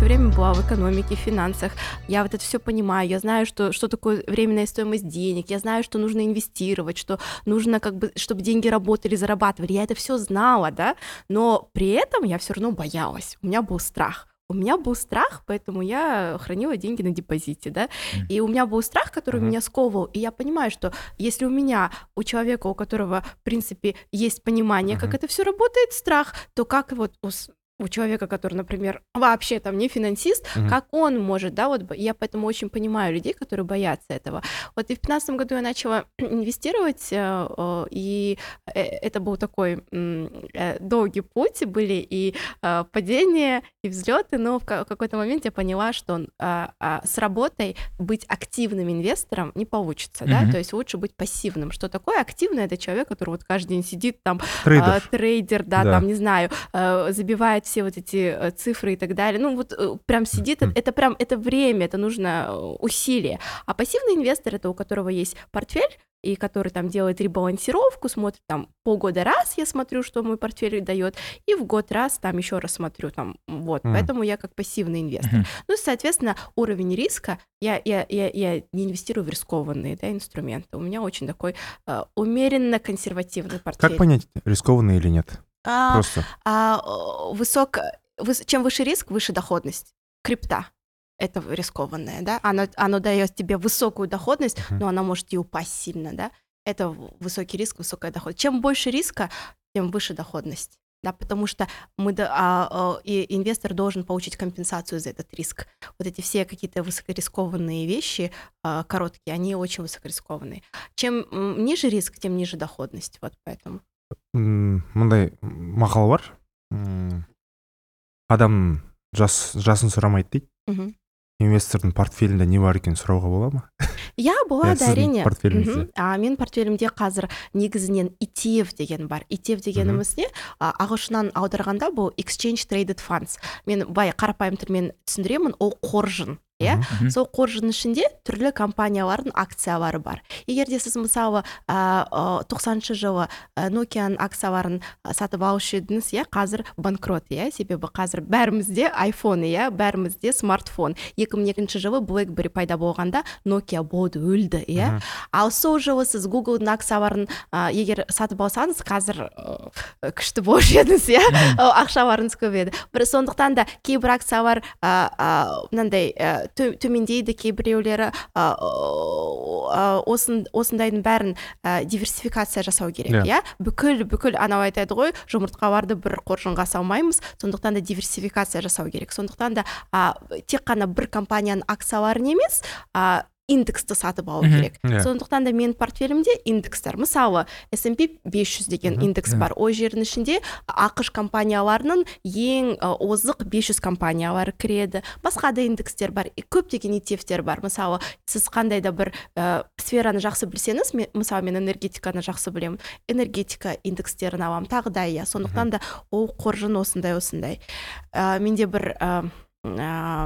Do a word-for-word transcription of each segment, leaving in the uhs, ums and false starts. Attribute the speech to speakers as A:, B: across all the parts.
A: все время была в экономике, в финансах. Я вот это все понимаю. Я знаю, что, что такое временная стоимость денег. Я знаю, что нужно инвестировать, что нужно, как бы, чтобы деньги работали, зарабатывали. Я это все знала, да, но при этом я все равно боялась. У меня был страх. У меня был страх, поэтому я хранила деньги на депозите, да,
B: Мгм.
A: и у меня был страх, который
B: Мгм.
A: меня сковывал, и я понимаю, что если у меня, у человека, у которого, в принципе, есть понимание, как
B: Мгм.
A: это все работает, страх, то как вот у, с- у человека, который, например, вообще там не финансист,
B: Мгм.
A: как он может, да, вот б- я поэтому очень понимаю людей, которые боятся этого. Вот и в пятнадцатом году я начала инвестировать, э, э, и э, это был такой м, э, долгий путь, были и э, падения, и взлеты, но в ка- какой-то момент я поняла, что а, а, с работой быть активным инвестором не получится, да,
B: Мгм.
A: то есть лучше быть пассивным. Что такое активный? Это человек, который вот каждый день сидит там, а,
B: Трейдер.
A: трейдер, да,
B: Да.
A: там, не знаю, э, забивает все вот эти э, цифры и так далее. Ну, вот э, прям сидит,
B: Мгм.
A: это прям, это время, это нужно э, усилие. А пассивный инвестор — это у которого есть портфель, и который там делает ребалансировку, смотрит там полгода раз, я смотрю, что мой портфель дает, и в год раз там еще раз смотрю, там, вот,
B: М.
A: поэтому я как пассивный инвестор.
B: Мгм.
A: Ну, соответственно, уровень риска, я, я, я, я не инвестирую в рискованные, да, инструменты, у меня очень такой э, умеренно консервативный
B: Как
A: портфель.
B: понять, рискованный или нет?
A: А,
B: Просто.
A: а, о, высок, выс- чем выше риск, выше доходность. Крипта — это рискованное, да, оно, оно дает тебе высокую доходность,
B: Мгм.
A: но она может и упасть сильно, да, это в- высокий риск, высокая доходность. Чем больше риска, тем выше доходность, да, потому что мы, до- а, а, и инвестор должен получить компенсацию за этот риск. Вот эти все какие-то высокорискованные вещи, а, короткие, они очень высокорискованные. Чем м, ниже риск, тем ниже доходность, вот поэтому.
B: М, мындай мақал бар. М, Адам жас жасын сұрамайды дейді.
A: Мгм.
B: Инвестордың портфелінде не бар екенін сұрауға бола ма?
A: Я
B: Иә,
A: была, да,
B: сіздің
A: әрине.
B: портфеліңізде.
A: Мгм. А менің портфелімде қазір негізінен и ти эф деген бар. и ти эф дегеніміз не? А, ағылшыннан аударғанда бұл Exchange Traded Funds. Мен бай қарапайым тілмен түсіндіремін, ол қоржын. Иә,
B: Мгм.
A: сол қоржын ішінде түрлі компаниялардың акциялары бар. Егер де сіз мысалы а, а, тоқсаныншы жылы а, Nokiаның акцияларын а, сатып алушы едіңіз, иә, қазір банкрот, иә, себебі қазір бәрімізде iPhone, иә, бәрімізде смартфон. екі мың екінші жылы BlackBerry пайда болғанда Nokia болды, өлді, иә.
B: Мгм.
A: Ал сол жылы сіз Google'дың акцияларын а, егер сатып алсаңыз, қазір ә, күшті болушы едіңіз, иә, ақшаларыңыз көп еді. Бір сондықтан да кейбір акциялар а, а, мынандай ә, тө- төмендейді, кейбіреулері а, а, осын- осындайдың бәрін а, диверсификация жасау керек,
B: Иә.
A: иә. Бүкіл бүкіл анау айтады ғой, жұмыртқаларды бір қоржынға салмаймыз, сондықтан да диверсификация жасау керек. Сондықтан да а, тек қана бір компанияның акцияларын емес, а, индексті сатып алу
B: Мгм.
A: керек.
B: Иә.
A: Сондықтан да менің портфелімде индекстер, мысалы эс энд пи бес жүз деген
B: Мгм.
A: индекс
B: Иә.
A: бар. Ол жердің ішінде ақш компанияларының ең а, озық бес жүз компаниялары кіреді. Басқа да индекстер бар, и көптеген и ти эфтер бар. Мысалы, сіз қандай да бір ә, сфераны жақсы білсеңіз, мен, мысалы, мен энергетиканы жақсы білемін, энергетика индекстерін аламын, тағы да, иә. Сондықтан да ол қоржын осындай осындай. Ә, менде бір ә, ә,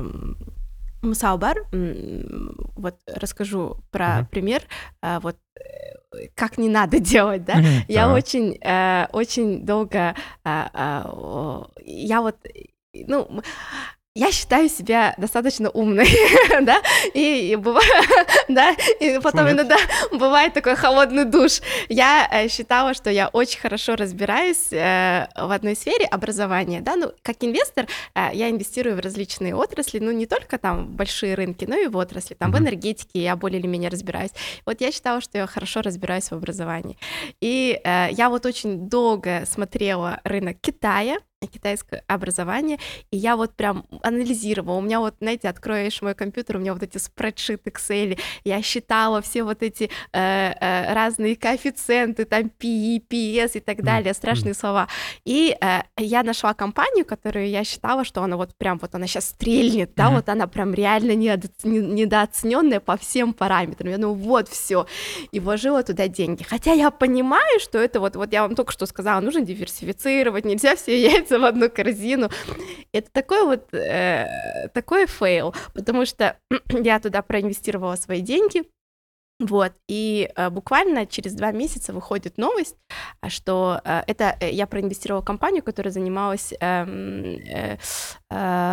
A: мысал бар, м, вот расскажу про
B: Мгм.
A: пример, а, вот э, как не надо делать, да.
B: Мгм.
A: Я
B: Так.
A: очень, э, очень долго, а, а, о, я вот, э, ну, м, я считаю себя достаточно умной, да, и, и бывает, да, и потом
B: нет?
A: иногда бывает такой холодный душ. Я э, считала, что я очень хорошо разбираюсь э, в одной сфере образования, да, ну, как инвестор э, я инвестирую в различные отрасли, ну, не только там в большие рынки, но и в отрасли, там в
B: Мгм.
A: энергетике я более или менее разбираюсь. Вот я считала, что я хорошо разбираюсь в образовании. И э, я вот очень долго смотрела рынок Китая, китайское образование, и я вот прям анализировала. У меня вот, знаете, откроешь мой компьютер, у меня вот эти спредшиты, Excel, я считала все вот эти э, э, разные коэффициенты, там пи и, пи эс и так
B: М,
A: далее, страшные слова. И э, я нашла компанию, которую я считала, что она вот прям вот она сейчас стрельнет, да,
B: Мгм.
A: вот она прям реально недо- не- недооцененная по всем параметрам. Я думаю, вот все, и вложила туда деньги. Хотя я понимаю, что это вот, вот я вам только что сказала, нужно диверсифицировать, нельзя все яйца в одну корзину. Это такой вот, э, такой фейл, потому что я туда проинвестировала свои деньги, Вот, и э, буквально через два месяца выходит новость, а, что э, это э, я проинвестировала в компанию, которая занималась эм, э, э,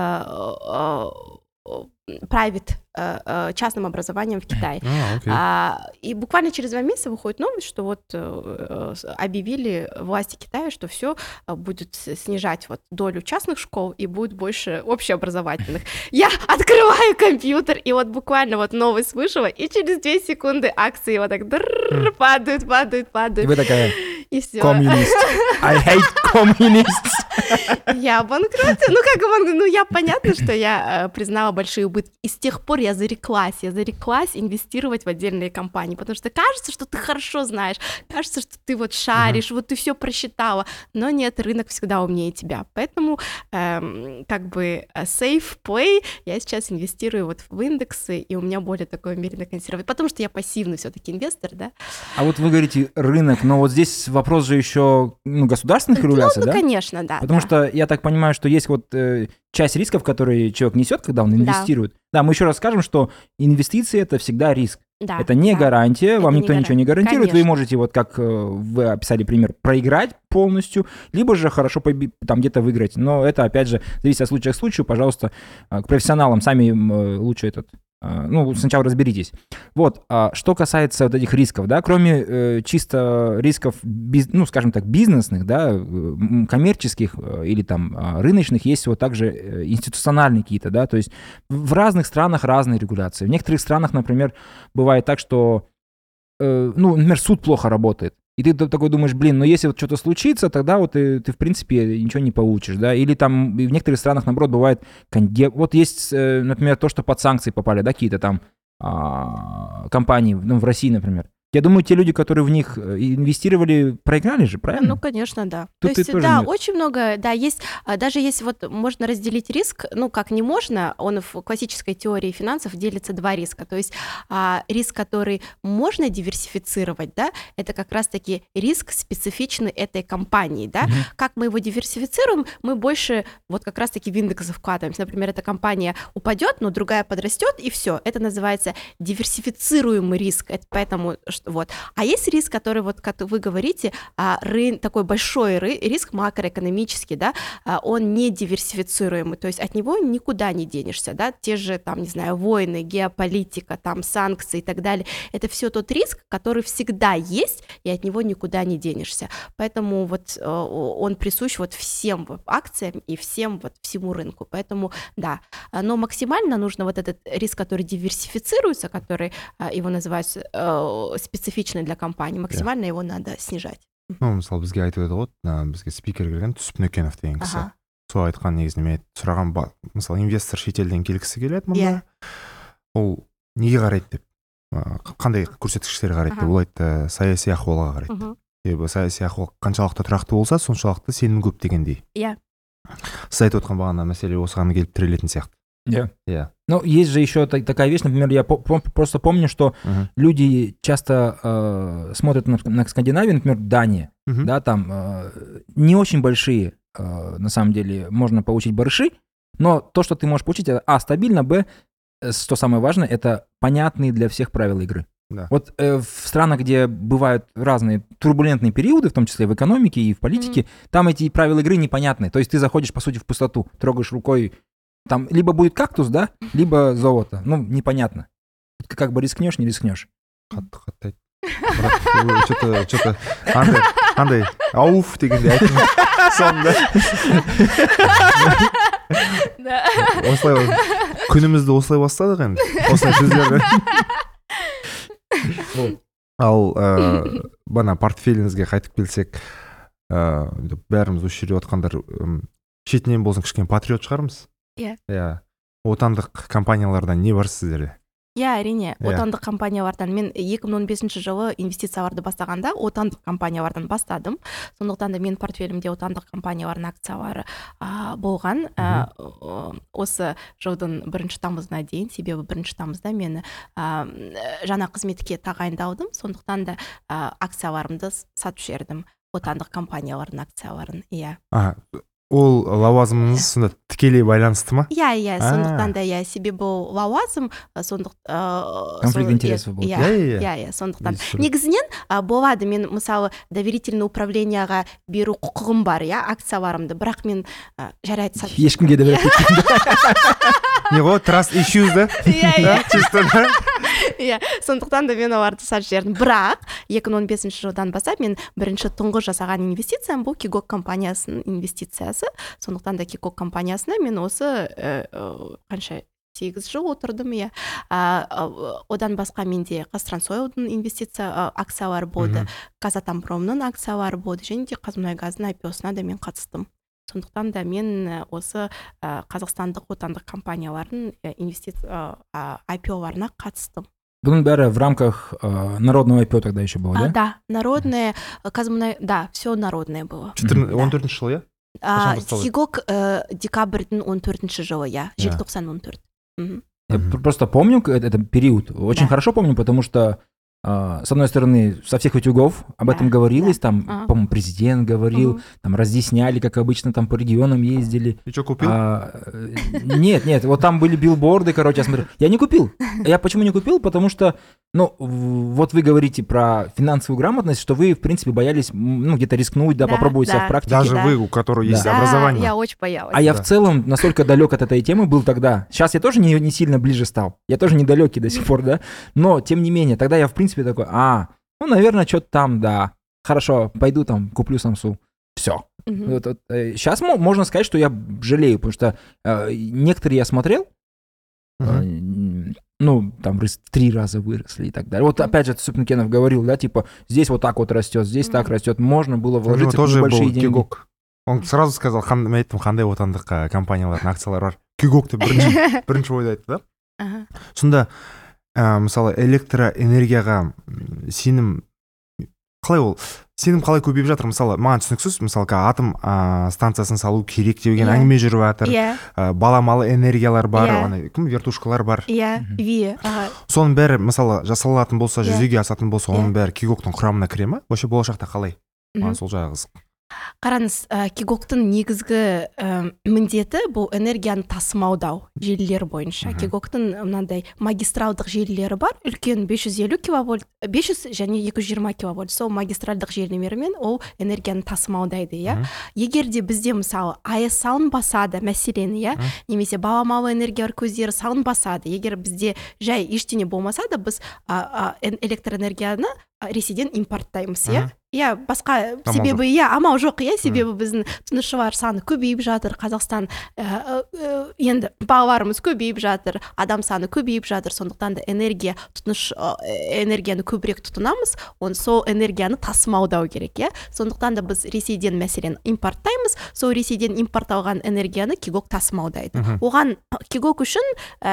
A: э, э, private, э, э, частным образованием в Китае.
B: А, окей.
A: А, и буквально через два месяца выходит новость, что вот э, э, объявили власти Китая, что все будет с- снижать вот долю частных школ и будет больше общеобразовательных. Я открываю компьютер, и вот буквально вот новость вышла, и через две секунды акции вот так дрррр падают, падают,
C: И
A: падают,
C: вы такая,
A: и все.
C: коммунист. I hate communists.
A: Я банкротила. Ну, как банк... Ну, я понятно, что я э, признала большие убытки. И с тех пор я зареклась. Я зареклась инвестировать в отдельные компании. Потому что кажется, что ты хорошо знаешь. Кажется, что ты вот шаришь, вот ты все просчитала. Но нет, рынок всегда умнее тебя. Поэтому эм, как бы э, safe play я сейчас инвестирую вот в индексы, и у меня более такое умеренно консервативное. Потому что я пассивный все-таки инвестор, да?
C: А вот вы говорите рынок, но вот здесь вопрос же еще ну, государственных регуляций,
A: Ну,
C: да?
A: конечно, да.
C: Потому
A: да.
C: что я так понимаю, что есть вот э, часть рисков, которые человек несет, когда он инвестирует. Да, мы еще раз скажем, что инвестиции это всегда риск.
A: Да,
C: это не
A: да.
C: гарантия, вам
A: Это
C: никто
A: не
C: ничего не гарантирует. Вы
A: Конечно.
C: можете, вот как э, вы описали пример, проиграть полностью, либо же хорошо поби- там где-то выиграть. Но это, опять же, зависит от случая к случаю. Пожалуйста, э, к профессионалам сами э, лучше этот... э, ну, сначала разберитесь. Вот, а что касается вот этих рисков, да, кроме э, чисто рисков, биз- ну, скажем так, бизнесных, да, э, м, коммерческих э, или там э, рыночных, есть вот также э, институциональные какие-то, да, то есть в в разных странах разные регуляции. В некоторых странах, например, бывает так, что, э, ну, например, суд плохо работает. И ты т- такой думаешь, блин, ну если вот что-то случится, тогда вот ты, ты, в принципе, ничего не получишь, да, или там и в некоторых странах, наоборот, бывает, конде- вот есть, э, например, то, что под санкции попали, да, какие-то там а, компании, ну, в России, например. Я думаю, те люди, которые в них э, инвестировали, проиграли же, правильно?
A: Ну, конечно, да.
C: Тут
A: То есть,
C: и тоже
A: да,
C: нет.
A: очень много, да, есть, а, даже если вот можно разделить риск, ну, как не можно, он в классической теории финансов делится два риска. То есть а, риск, который можно диверсифицировать, да, это как раз-таки риск специфичный этой компании, да.
C: Мгм.
A: Как мы его диверсифицируем, мы больше вот как раз-таки в индексы вкладываемся. Например, эта компания упадет, но другая подрастет, и все. Это называется диверсифицируемый риск. Это поэтому что- вот. А есть риск, который вот, как вы говорите, а, рын- такой большой ры- риск макроэкономический, да, а, он не диверсифицируемый, то есть от него никуда не денешься, да, те же там, не знаю, войны, геополитика, там санкции и так далее. Это все тот риск, который всегда есть, и от него никуда не денешься. Поэтому вот э, он присущ вот всем вот акциям и всем вот всему рынку. Поэтому да, А, но максимально нужно вот этот риск, который диверсифицируется, который а, его называют э, специфичный для компании, максимально его надо снижать.
B: Ну мысалы бізге айтып еді ғой ана бізге спикер келген түсіп нүкенов деген кісі.
A: Ага.
B: Сол айтқан негізінде мен сұраған ба- мысалы инвестор шетелден келгісі келеді мұнда.
A: Иә.
B: Ол неге қарайды деп а, қандай көрсеткіштерге қарайды деп
A: Аха.
B: ол айтты саяси ахуалға қарайды.
A: Мгм.
B: Себебі саяси ахуал қаншалықты тұрақты болса соншалықты сенім көп дегендей.
A: Иә.
B: Сіз айтып отқан бағана мәселе осыған келіп тірелетін сияқты.
C: Yeah.
B: Иә.
C: Ну, есть же еще та- такая вещь, например, я по- пом- просто помню, что
B: Мгм.
C: люди часто э, смотрят на, на Скандинавию, например, Дания,
B: Мгм.
C: да, там э, не очень большие, э, на самом деле, можно получить барыши, но то, что ты можешь получить, это, а, стабильно, б, э, что самое важное, это понятные для всех правила игры.
B: Да.
C: Вот э, в странах, где бывают разные турбулентные периоды, в том числе в экономике и в политике, там эти правила игры непонятны. То есть ты заходишь, по сути, в пустоту, трогаешь рукой, там либо будет кактус, да, либо золото. Ну, непонятно. Ты как бы рискнешь, не рискнешь.
B: қатты қатты айт. Бірақ что-то что-то андай андай ауф дегенде айттың соңында.
A: Да.
B: Осылай күнімізді осылай бастадық енді. Осылай сөздерді. Ал ә, бана портфеліңізге қайтып келсек, ә, бәріміз осы жерде отқандар ым, шетінен болсын кішкене патриот шығармыз.
A: Иә.
B: Иә. Отандық компаниялардан не бар сіздерде?
A: Иә, әрине,
B: Иә.
A: отандық компаниялардан мен екі мың он бесінші жылы инвестицияларды бастағанда отандық компаниялардан бастадым. Сондықтан да менің портфелімде отандық компаниялардың акциялары а, болған. А, о- осы жылдың бірінші тамызына дейін, себебі бірінші тамызда мені а, жаңа қызметке тағайындалдым. Сондықтан да а, акцияларымды сатып жібердім. Отандық компаниялардың акцияларын. Иә.
B: А, ол лауазымыңыз сонда тікелей байланысты ма?
A: Иә, иә,
B: А.
A: сондықтан да, иә, себебі ол лауазым, сондықтан...
C: Конфликт интересов болды.
A: Иә,
B: Иә, иә,
A: иә, иә, сондықтан.
B: Естественно.
A: Негізінен а, болады, мен мысалы доверительный управленияға беру құқығым бар, иә, акцияларымды, бірақ мен а, жарайды сатып
C: Ешкімге де беріп
B: Не ғой, trust issues да?
A: Иә, иә.
B: Чисто, да?
A: Иә, сондықтан да мен оларды сатып жібердім. Бірақ екі мың он бесінші жылдан бастап мен бірінші тұңғыш жасаған инвестициям бұл Кигок компаниясының инвестициясы. Сондықтан да Кигок компаниясына мен осы ә, ә, қанша сегіз жыл отырдым, иә. А, а, одан басқа менде Қазтрансойлдың инвестиция а, акциялары болды, Казатомпромның акциялары болды, және де Қазмұнайгаздың ай пи о-сына да мен қатыстым. Сондықтан да мен ә, осы ә, қазақстандық отандық компаниялардың ә, инвестиция ә, ай пи о-ларына қатыстым.
C: Бұның бәрі в рамках э, народного ай пи о тогда еще было,
A: А,
C: да?
A: да, народное, Казмунай, да, все народное было.
B: он төртінші жыл, иә?
A: А,
B: Қашан басталды?
A: Кигок ә, декабрьдің он төртінші жылы, иә, желтоқсан он төрт. Мгм.
C: Я
B: Мгм.
C: пр- просто помню к- этот период, очень
A: Да.
C: хорошо помню, потому что, э, с одной стороны, со всех утюгов об
A: Да,
C: этом говорилось,
A: да.
C: там,
A: Ага.
C: по-моему, президент говорил,
A: Мгм.
C: там разъясняли, как обычно, там по регионам ездили.
B: И что, купил?
C: А, э, нет, нет, вот там были билборды, короче, я смотрю. Я не купил. Я почему не купил? Потому что, ну, в- вот вы говорите про финансовую грамотность, что вы, в принципе, боялись, м, ну, где-то рискнуть, да,
A: Да,
C: попробовать себя
A: да.
C: в практике.
B: Даже
A: да.
B: вы, у которого есть
A: Да,
B: образование.
A: я очень боялась.
C: А я
B: Да.
C: в целом настолько далек от этой темы был тогда. Сейчас я тоже не, не сильно ближе стал. Я тоже недалекий до сих пор, да. Но, тем не менее, тогда я, в принципе, такой, а, ну, наверное, что-то там, да. Хорошо, пойду там, куплю Самсу. Все.
A: Мгм.
C: Сейчас можно сказать, что я жалею, потому что э, некоторые я смотрел, э,
B: Мгм.
C: м, ну, там рыс- в три раза выросли и так далее. Вот опять же, Супнкенов говорил, да, типа, здесь вот так вот растет, здесь так
A: Мгм.
C: растет. Можно было
B: У него
C: вложиться в
B: тоже
C: небольшие
B: был
C: деньги.
B: Кигок. Он сразу сказал, қан- мен айттым, қандай отандық ә, компаниялардың акциялары бар. Кигок деп бірінші, бірінші ойды айтты, да?
A: Ага.
B: Сонда, ә, мысалы, электроэнергияға м, сенім қалай ол? Сенім қалай көбейіп жатыр? Мысалы, маған түсініксіз, мысалы, ка- атом ә, станциясын салу керек деген
A: Иә.
B: әңгіме жүріп жатыр.
A: Иә,
B: Ә, баламалы энергиялар бар,
A: Иә.
B: ана кім вертушкалар бар.
A: иә,
C: Мгм.
A: ви, ага.
B: Соның бәрі, мысалы, жасалатын болса,
A: Иә.
B: жүзеге асатын болса, оның
A: Иә.
B: бәрі Кигоктың құрамына кіре ма? Вообще болашақта қалай?
A: Мгм.
B: Маған сол жағы қызық.
A: Қараңыз, ә, Кигоктың негізгі ә, міндеті бұл энергияны тасымалдау желілері бойынша.
B: Мгм.
A: Кигоктың мынандай магистралдық желілері бар, үлкен бес жүз елу киловольт, бес жүз және екі жүз жиырма киловольт. Сол магистральдық желілермен ол энергияны тасымалдайды, иә.
B: Мгм.
A: Егер де бізде мысалы АЭС салынбаса да, мәселен, иә,
B: Мгм.
A: немесе баламалы энергия көздері салынбаса да, егер бізде жай ештеңе болмаса да, біз а, а, эн- электроэнергияны а, ресейден импорттаймыз, иә.
B: Мгм.
A: Иә, басқа
B: Амал
A: себебі, иә, амал жоқ, иә, себебі біздің тұтынушылар саны көбейіп жатыр, Қазақстан ә, ә, ә, енді балаларымыз көбейіп жатыр, адам саны көбейіп жатыр, сондықтан да энергия тұтыныш ә, энергияны көбірек тұтынамыз, оны сол энергияны тасымалдау керек, иә. Сондықтан да біз Ресейден мәселен импорттаймыз, сол Ресейден импортталған энергияны Кигок тасымалдайды.
B: Мгм.
A: Оған Кигок үшін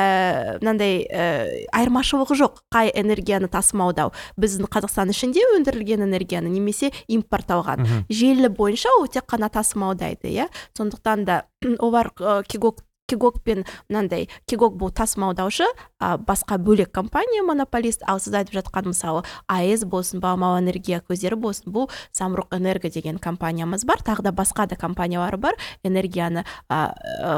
A: ә, мынандай ә, айырмашылығы жоқ, қай энергияны тасымалдау. Біздің Қазақстан ішінде өндірілген энергияны немесе импортталған.
B: Мгм.
A: Желі бойынша ол тек қана тасымалдайды, иә. Сондықтан да олар ә, Кигок Кигокпен мынандай, Кигок бұл тасымалдаушы, а, басқа бөлек компания монополист, ал сіз айтып жатқан мысалы АЭС болсын, баламалы энергия көздері болсын, бұл Самұрық Энерго деген компаниямыз бар, тағы да басқа да компаниялар бар, энергияны а,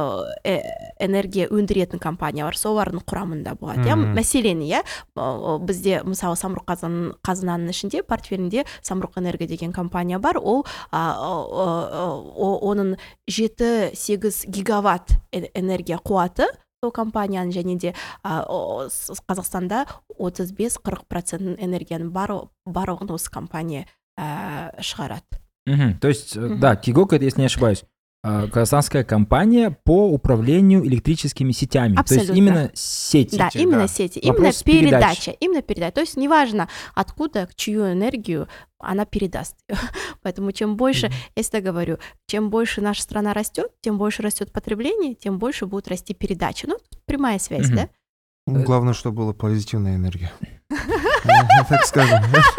A: ә, энергия өндіретін компаниялар, солардың құрамында болады, иә.
B: Мгм.
A: Мәселен, иә, ә, бізде мысалы Самұрық қазын- қазынаның ішінде портфелінде Самұрық Энерго деген компания бар, ол а, о- о- о- оның жеті сегіз гигаватт э- энергия қуаты сол компанияның, және де а, о- с- Қазақстанда отыз бес қырық процент энергияның бар- барлығын осы компания ә, шығарады.
C: Мгм. То есть, э,
A: Мгм.
C: да, Кигок, это, если не ошибаюсь, э, казахстанская компания по управлению электрическими сетями. То
A: Абсолютно.
C: есть именно сети.
A: Да,
B: Сети,
A: именно
B: да.
A: сети, именно
C: Вопрос
A: передача, именно передача. То есть неважно, откуда, чью энергию она передаст. Поэтому чем больше,
B: Мгм.
A: я всегда говорю, чем больше наша страна растет, тем больше растет потребление, тем больше будет расти передача. Ну, прямая связь,
C: Мгм.
A: да?
B: Ну, главное, чтобы была позитивная энергия. Так скажем.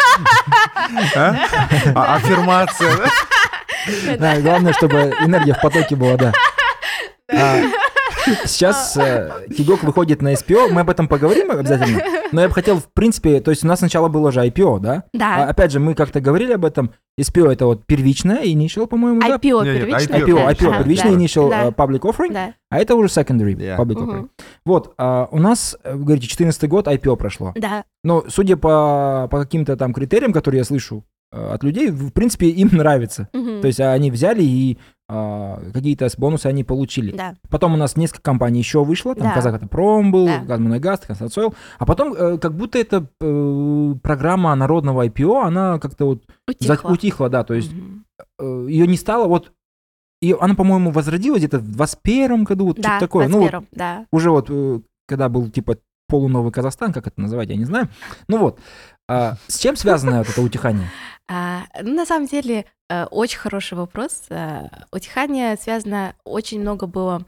B: А? А- Аффирмация, да?
C: Да, главное, чтобы энергия в потоке была, да. А, Сейчас э, Тигок выходит на эс пи о, мы об этом поговорим обязательно. Но я бы хотел, в принципе, то есть у нас сначала было же ай пи о, да?
A: Да.
C: А, опять же, мы как-то говорили об этом. эс пи о это вот первичное, initial, по-моему, да?
A: ай пи о
B: Нет, нет,
A: первичное.
C: ай пи о,
A: да.
C: ай пи о,
A: Ага,
C: первичный
A: да.
C: initial
A: Да.
C: uh, public offering,
A: Да.
C: а это уже secondary
B: Yeah.
C: public
A: Мгм.
C: offering. Вот, а, у нас, э, вы говорите, четырнадцатый год ай пи о прошло.
A: Да.
C: Но судя по, по каким-то там критериям, которые я слышу э, от людей, в принципе, им нравится.
A: Мгм.
C: То есть они взяли и а, какие-то бонусы они получили.
A: Да.
C: Потом у нас несколько компаний еще вышло, там
A: Да.
C: Казахавтопром был,
A: Да.
C: Казмунайгаз, Константсойл, а потом э, как будто эта э, программа народного ай пи о, она как-то вот за-
A: Утихло.
C: утихла, да, то есть
A: Мгм.
C: э, ее не стало, вот, ее, она, по-моему, возродилась где-то в двадцать первом году, вот
A: Да,
C: что-то такое. Ну, вот
A: двадцать первом, да.
C: уже вот, э, когда был типа полуновый Казахстан, как это называть, я не знаю. Ну вот, а, с чем связано вот это утихание?
A: А, ну, на самом деле, э, очень хороший вопрос. Э, Утихание связано, очень много было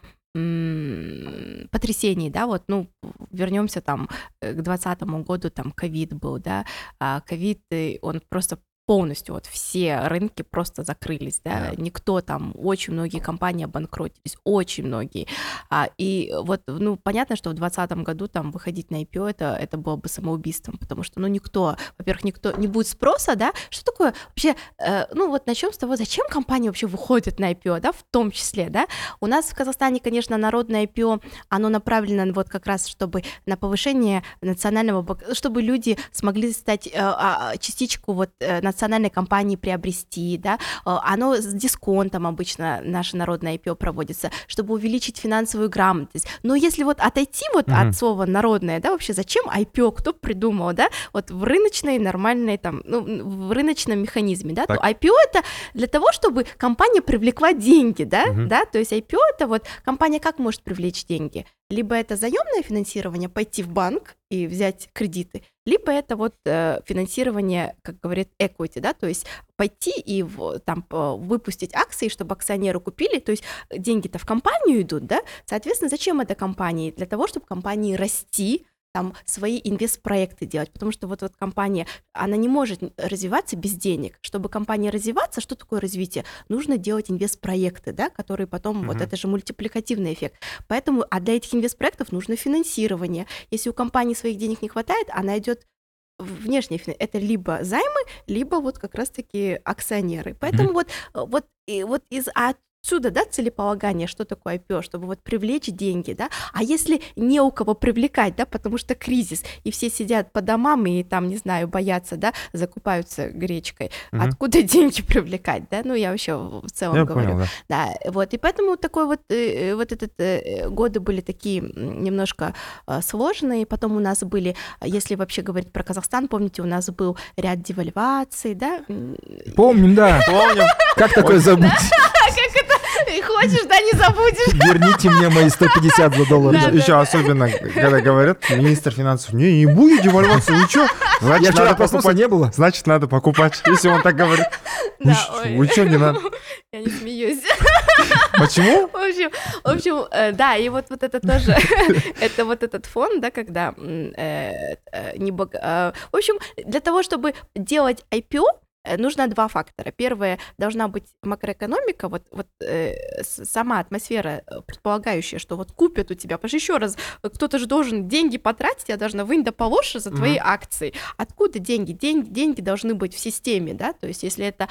A: м, потрясений, да, вот, ну, вернемся там э, к двадцатому году, там, ковид был, да, а ковид, э, он просто полностью, вот все рынки просто закрылись, да,
B: Да.
A: никто там, очень многие компании обанкротились, очень многие, а, и вот, ну, понятно, что в двадцатом году там выходить на ай пи о, это, это было бы самоубийством, потому что, ну, никто, во-первых, никто, не будет спроса, да, что такое вообще, э, ну, вот начнем с того, зачем компании вообще выходят на ай пи о, да, в том числе, да, у нас в Казахстане, конечно, народное ай пи о, оно направлено вот как раз, чтобы на повышение национального, бог- чтобы люди смогли стать, э, а, частичку вот э, национальной компании приобрести, да, Э, оно с дисконтом обычно наше народное ай пи о проводится, чтобы увеличить финансовую грамотность. Но если вот отойти вот
B: Мгм.
A: от слова народное, да, вообще зачем ай пи о, кто придумал, да, вот в рыночной нормальной там, ну, в рыночном механизме, да,
B: Так.
A: то ай пи о это для того, чтобы компания привлекла деньги, да,
B: Мгм.
A: да, то есть ай пи о это вот компания как может привлечь деньги? Либо это заемное финансирование, пойти в банк и взять кредиты, либо это вот э, финансирование, как говорит equity, да, то есть пойти и в- там п- выпустить акции, чтобы акционеры купили, то есть деньги-то в компанию идут, да, соответственно, зачем это компании? Для того, чтобы компании расти, там свои инвестпроекты делать, потому что вот, вот компания, она не может развиваться без денег. Чтобы компания развиваться, что такое развитие? Нужно делать инвестпроекты, да, которые потом,
B: Мгм.
A: вот это же мультипликативный эффект. Поэтому, а для этих инвестпроектов нужно финансирование. Если у компании своих денег не хватает, она идет внешнее финансирование. Это либо займы, либо вот как раз-таки акционеры. Поэтому вот, вот, и вот из отсюда, да, целеполагание, что такое ай пи о, чтобы вот привлечь деньги, да, а если не у кого привлекать, да, потому что кризис, и все сидят по домам и там, не знаю, боятся, да, закупаются гречкой,
B: Мгм.
A: откуда деньги привлекать, да, ну, я вообще в целом
B: Я
A: говорю.
B: понял, да.
A: Да, вот, и поэтому такой вот, э, вот этот э, годы были такие м, немножко э, сложные, потом у нас были, если вообще говорить про Казахстан, помните, у нас был ряд девальваций, да? М,
C: Помним, да.
B: Помню.
C: Как такое забыть?
A: Как это? Хочешь, да, не забудешь.
C: Верните мне мои сто пятьдесят за доллар.
A: Да,
B: Еще особенно, когда говорят, министр финансов, не, не будет девальвации, ничего.
C: Я
B: Значит,
C: вчера
B: надо
C: проснулся,
B: покупать.
C: не было.
B: Значит, надо покупать, если он так говорит. Вы
A: Да,
B: ш-
A: ой.
B: Вы что, не надо?
A: Я не смеюсь.
B: Почему?
A: В общем, в общем, э, да, и вот, вот это тоже, это вот этот фон, да, когда м, э, э, не бог- э, в общем, для того, чтобы делать ай пи о, э, нужно два фактора. Первое, должна быть макроэкономика, вот, вот э, с- сама атмосфера, э, предполагающая, что вот купят у тебя, потому что еще раз, э, кто-то же должен деньги потратить, я должна вынь да положь за твои
B: Мгм.
A: акции. Откуда деньги? Деньги, деньги должны быть в системе, да, то есть если это,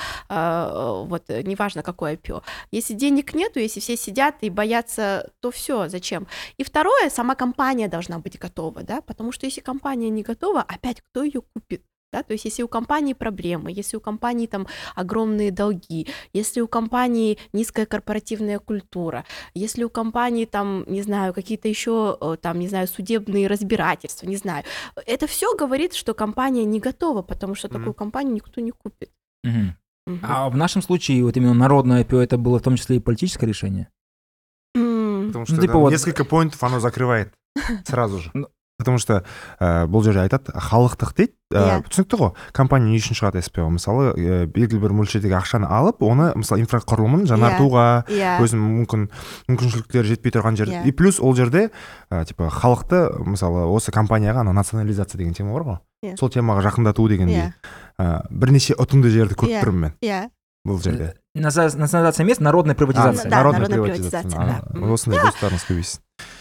A: э, вот, э, неважно, какое ай пи о, если денег нету, если все сидят и боятся, то все, зачем? И второе, сама компания должна быть готова, да, потому что если компания не готова, опять кто ее купит? Да, то есть если у компании проблемы, если у компании там огромные долги, если у компании низкая корпоративная культура, если у компании там, не знаю, какие-то еще э, там, не знаю, судебные разбирательства, не знаю, это все говорит, что компания не готова, потому что
B: Мгм.
A: такую компанию никто не купит.
C: Мгм.
A: Мгм.
C: А в нашем случае вот именно народное ай пи о это было в том числе и политическое решение?
A: М,
B: Потому что
C: Ну, типа
B: да,
C: вот-
B: несколько поинтов оно закрывает сразу же.
C: Ну.
B: Потому что ә, бұл жерде айтады халықтық дейді ә,
A: Иә.
B: түсінікті ғой компания не үшін шығады эс пи о мысалы ә, белгілі бір мөлшердегі ақшаны алып оны мысалы инфрақұрылымын жаңартуға
A: иә.
B: өзінің мүмкін мүмкіншіліктері жетпей тұрған жерде
A: Иә.
B: и плюс ол жерде ә, типа халықты мысалы осы компанияға ана национализация деген тема бар ғой
A: Иә.
B: сол темаға жақындату дегендей
A: Иә.
B: ә, бірнеше ұтымды жерді көріп
A: Иә.
B: тұрмын мен
A: Иә.
B: бұл жерде
C: Наза- Национализация мест, народная
A: А,
C: приватизация.
A: да,
B: народная
A: народная
B: приватизация
A: приватизация, да.
B: А, осындай достарыңыз көбейсін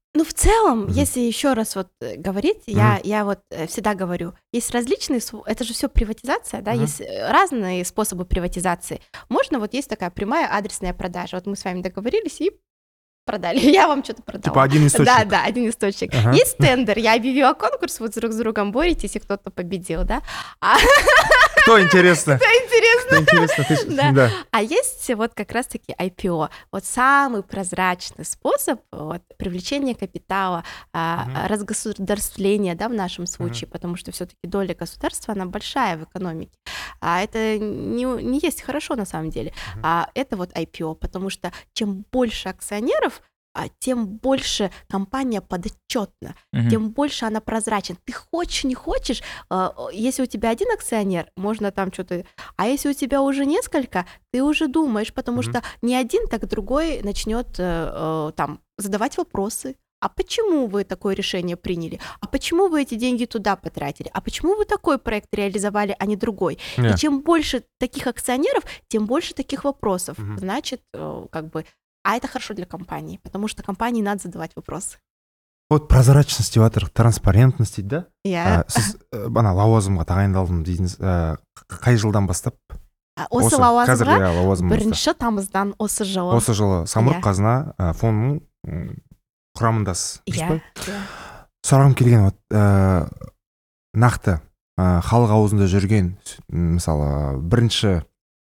A: Ну, в целом,
B: Мгм.
A: если еще раз вот э, говорить, я, я вот э, всегда говорю, есть различные, св- это же все приватизация, да,
B: Мгм.
A: есть э, разные способы приватизации. Можно, вот есть такая прямая адресная продажа. Вот мы с вами договорились и продали. Я вам что-то продала.
B: Типа один источник.
A: Да, да, один источник.
B: Ага.
A: Есть тендер, я объявила конкурс, вот друг с другом боретесь, и кто-то победил, да. А
B: Кто интересно?
A: интересно.
B: Кто интересно? Ты ж-
A: Да.
B: Да.
A: А есть вот как раз-таки ай пи о. Вот самый прозрачный способ вот, привлечения капитала, а,
B: Мгм.
A: разгосударствления, да, в нашем случае, потому что все-таки доля государства, она большая в экономике. А это не, не есть хорошо на самом деле.
B: Мгм.
A: А это вот ай пи о, потому что чем больше акционеров, а, тем больше компания подотчетна,
C: Мгм.
A: тем больше она прозрачна. Ты хочешь, не хочешь, э, если у тебя один акционер, можно там что-то... А если у тебя уже несколько, ты уже думаешь, потому
B: Мгм.
A: что не один, так другой начнет там задавать вопросы. А почему вы такое решение приняли? А почему вы эти деньги туда потратили? А почему вы такой проект реализовали, а не другой?
B: Не.
A: И чем больше таких акционеров, тем больше таких вопросов.
B: Мгм.
A: Значит, э, как бы... А это хорошо для компании, потому что компании надо задавать вопросы.
B: Вот прозрачность деп жатыр, транспарентность дейді да?
A: Я...
B: А, сіз э, ана лауазымға тағайындалдым дейсіз, ә, қай жылдан бастап?
A: А, осы
B: қазір
A: лауазымға
B: иә лауазымыңызда.
A: бірінші тамыздан осы жылы.
B: Осы жылы самұрық
A: Иә.
B: қазына ә, фонының м, құрамындасыз. дұрыс
A: Иә,
B: па?
A: иә.
B: Сұрағым келген вот ә, нақты ә, халық аузында жүрген м, мысалы бірінші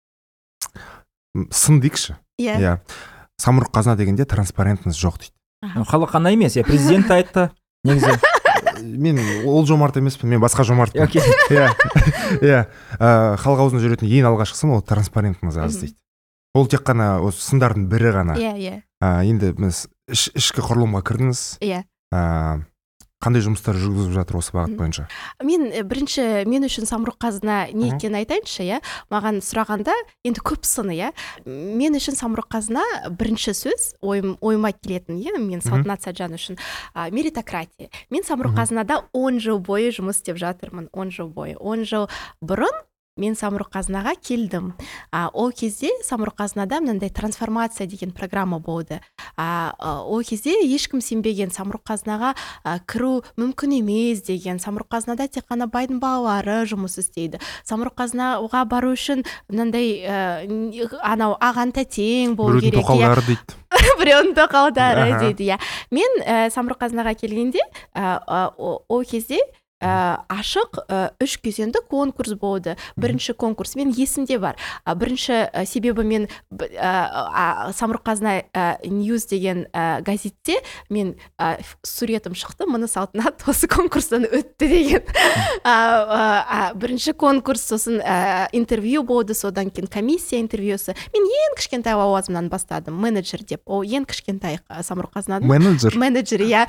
B: м, сын дейікші.
A: Иә.
B: Иә. Самұрық қазына дегенде транспарентность жоқ дейді.
C: Ну, халық қана емес, иә, президент айтты. Негізі.
B: Мен ол жомарт емеспін, мен басқа жомартпын.
C: Окей.
B: Иә. Иә. Ә, халық аузында жүретін ең алғашқысы ол транспарентность аз
A: Мгм.
B: дейді. Ол тек қана осы сындардың бірі ғана.
A: Иә, иә,
B: Ә, енді біз іш- ішкі құрылымға кірдіңіз.
A: иә.
B: Ә, қандай жұмыстар жүргізіп жатыр осы бағыт
A: Мгм.
B: бойынша?
A: Мен э, бірінші мен үшін самұрық қазына не
B: Мгм.
A: екенін айтайыншы, иә. Маған сұрағанда енді көп сыны, иә. Мен үшін самұрық қазына бірінші сөз ойым, ойыма келетін, иә, мен Салтанат Саджан үшін а, меритократия. Мен самұрық
B: Мгм.
A: қазынада он жыл бойы жұмыс істеп жатырмын, он жыл бойы. он жыл бұрын мен самұрық қазынаға келдім. А, ол кезде самұрық қазынада мынандай трансформация деген программа болды. А, а, ол кезде ешкім сенбеген, самұрық қазынаға а, кіру мүмкін емес деген. Самұрық қазынада тек қана байдың балалары жұмыс істейді. Самұрық қазынаға бару үшін мынандай ә, н- анау аған тәтең болу
B: Біреудің
A: керек.
B: тоқалдары дейді.
A: Біреудің тоқалдары
B: Аха.
A: дейді, иә. Мен ә, самұрық қазынаға келгенде ә, ә, о- ол кезде ә, ашық ә, үш кезеңді конкурс болды. Бірінші конкурс мен есімде бар. А, бірінші ә, себебі мен б- ә, а, самұрық қазына ә, ньюс деген ә, газетте мен ә, ф- суретім шықты, мұны Салтанат осы конкурстан өтті деген. А, а, а, бірінші конкурс, сосын ә, интервью болды, содан кейін комиссия интервьюсы. Мен ең кішкентай лауазымнан бастадым, менеджер деп. Ол ең кішкентай ә, самұрық қазынаның
B: Менеджер.
A: менеджер, иә.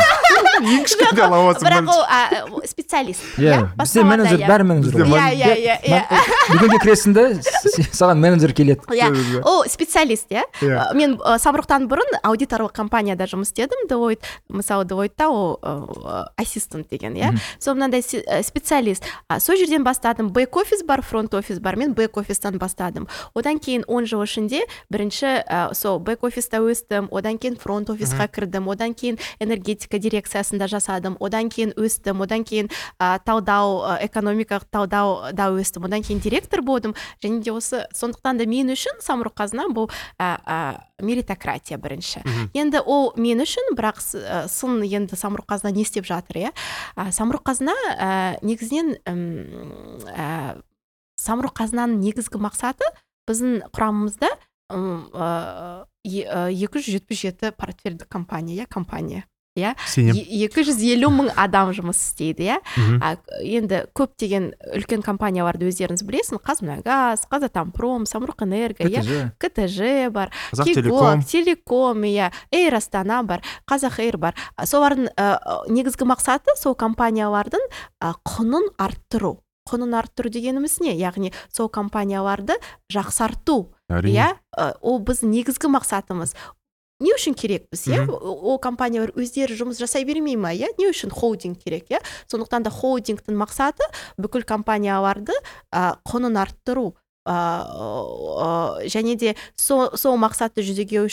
B: Ең кішкентай лауазым.
A: Бірақ ол ә, специалист.
C: Иә, бізде
A: Басқаларда,
C: менеджер,
A: иә.
C: бәрі менеджер.
B: Бізде
C: ғой.
A: Иә, иә, иә, иә.
C: Бүгінге кіресің да, с- саған менеджер келеді.
A: Иә, ол специалист, иә.
B: Иә.
A: Мен ә, самұрықтан бұрын аудиторлық компанияда жұмыс істедім, Deloitte, мысалы Deloitte'та ол ә, ассистент деген, иә.
C: Мгм.
A: Сол мынандай си- ә, специалист. А, сол жерден бастадым, бэк-офис бар, фронт-офис бар, мен бэк-офистан бастадым. Одан кейін он жыл ішінде бірінші ә, сол бэк-офиста өстім, одан кейін фронт-офисқа кірдім, одан кейін энергетика дирекциясында жасадым, одан кейін өстім, одан кейін ә, талдау, ә, экономикалық талдауда өстім, одан кейін директор болдым, және де осы сондықтан да мен үшін самұрық қазына бұл ә, ә, меритократия бірінші.
B: Мгм.
A: Енді ол мен үшін, бірақ с- ә, сын енді самұрық қазына не істеп жатыр, иә. А, самұрық қазына ә, негізінен ім, ә, самұрық қазынаның негізгі мақсаты біздің құрамымызда ім, ә, е- ә, екі жүз жетпіс жеті портфельді компания, иә, компания. Иә,
B: Сенем.
A: Е- екі жүз елу мың адам жұмыс істейді, иә.
B: Мгм.
A: А, енді көптеген үлкен компанияларды өздеріңіз білесін, Қазмұнайгаз, Қазатомпром, Самұрық Энерго, иә,
C: КТЖ.
A: ка тэ жэ бар,
B: Қазақ
A: Кикок,
B: телеком.
A: Телеком, иә, Эйр Астана бар, Қазақэйр бар. А, солардың ә, негізгі мақсаты сол компаниялардың ә, құнын арттыру. Құнын арттыру дегеніміз не? Яғни сол компанияларды жақсарту.
B: Әрине.
A: Иә, ә, ол біздің негізгі мақсатымыз. Не үшін керекпіз, иә?
B: Мгм.
A: Ол компаниялар өздері жұмыс жасай бермей ма, иә? Не үшін холдинг керек, иә? Сондықтан да холдингтің мақсаты бүкіл компанияларды ә, құнын арттыру. ыыы және де сол сол мақсатты жүзеге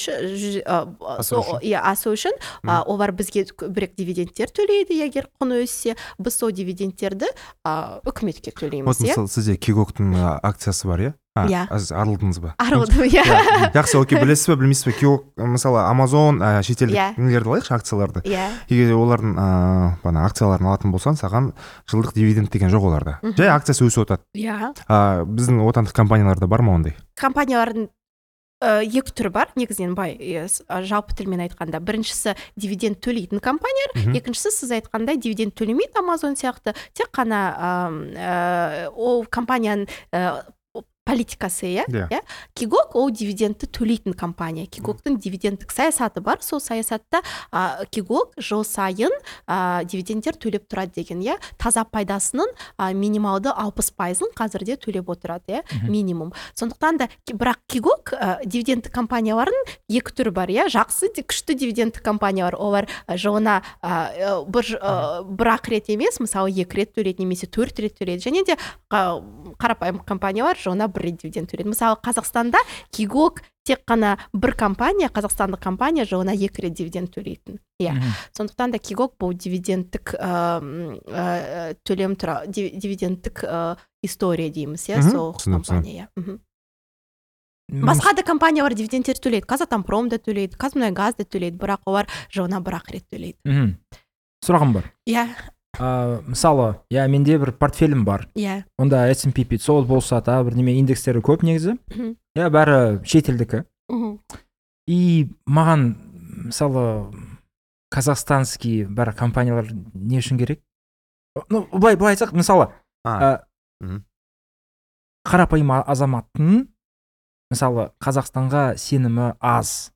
B: Асыру үшін.
A: асу үшін а, олар бізге көбірек дивидендтер төлейді егер құн өссе, біз сол дивидендтерді а, үкіметке
B: Вот
A: төлейміз, иә.
B: мысалы сізде Кигоктың а, акциясы бар, иә? А,
A: Иә.
B: аз- арылдыңыз ба?
A: Арылдым, иә.
B: Иә. Жақсы, окей, білесіз бе, білмейсіз бе? Кигок, мысалы Амазон, а, шетелдік
A: Иә.
B: нелерді алайықшы, акцияларды.
A: Иә.
B: Егер олардың а, бана акцияларын алатын болсаң, саған жылдық дивиденд деген жоқ оларда.
A: Мгм.
B: Жай акциясы өсіп отырады.
A: Иә.
B: А, біздің отандық компанияларда бар ма ондай?
A: Компаниялардың ә, екі түрі бар, негізінен бай, е, с- а, жалпы тілмен айтқанда. Біріншісі дивиденд төлейтін компаниялар,
B: Мгм.
A: екіншісі сіз айтқандай дивиденд төлемейді, Amazon сияқты, тек қана ам, ә, ол компанияның ә, политикасы, иә.
B: Иә.
A: Иә. Кигок ол дивидендті төлейтін компания. Кигоктың дивидендтік саясаты бар. Сол саясатта а, Кигок жыл сайын а, дивидендтер төлеп тұрады деген, иә. Таза пайдасының а, минималды алпыс пайызын қазірде төлеп отырады, иә,
C: Мгм.
A: минимум. Сондықтан да ки- бірақ Кигок а, дивидендтік компаниялардың екі түрі бар, иә. Жақсы, ди- күшті дивидендтік компаниялар, олар а, жылына а, э, бір ж- а, бір-ақ рет емес, мысалы екі рет төлейді немесе төрт рет төлейді. Және де а, қарапайым компаниялар жылына бір рет дивиденд төлейді. Мысалы Қазақстанда Кигок тек қана бір компания, қазақстандық компания жылына екі рет дивиденд төлейтін. Иә.
C: Мгм.
A: Сондықтан да Кигок бұл дивидендтік ә, м, ә, төлем тұра див- дивидендтік ә, история дейміз, иә,
B: Мгм.
A: сол
B: Түсіндім,
A: компания. Иә. Мгм.
C: М,
A: Басқа да компаниялар дивидендтер төлейді. Казатомпром да төлейді, Казмунайгаз да төлейді, бірақ олар жылына бір-ақ рет төлейді.
C: мгм. Сұрағым бар.
A: Иә,
C: А, мысалы, иә, менде бір портфелім бар.
A: иә.
C: Онда эс энд пи пятьсот болса, та бірдеме индекстері көп негізі.
A: Мгм.
C: Иә, бәрі шетелдікі.
A: Мгм.
C: И маған, мысалы, казахстанский бір компаниялар не үшін керек? Ну, былай, былай айтсақ, мысалы,
B: А,
C: а,
B: мгм.
C: қарапайым а- азаматтың, мысалы, Қазақстанға сенімі аз.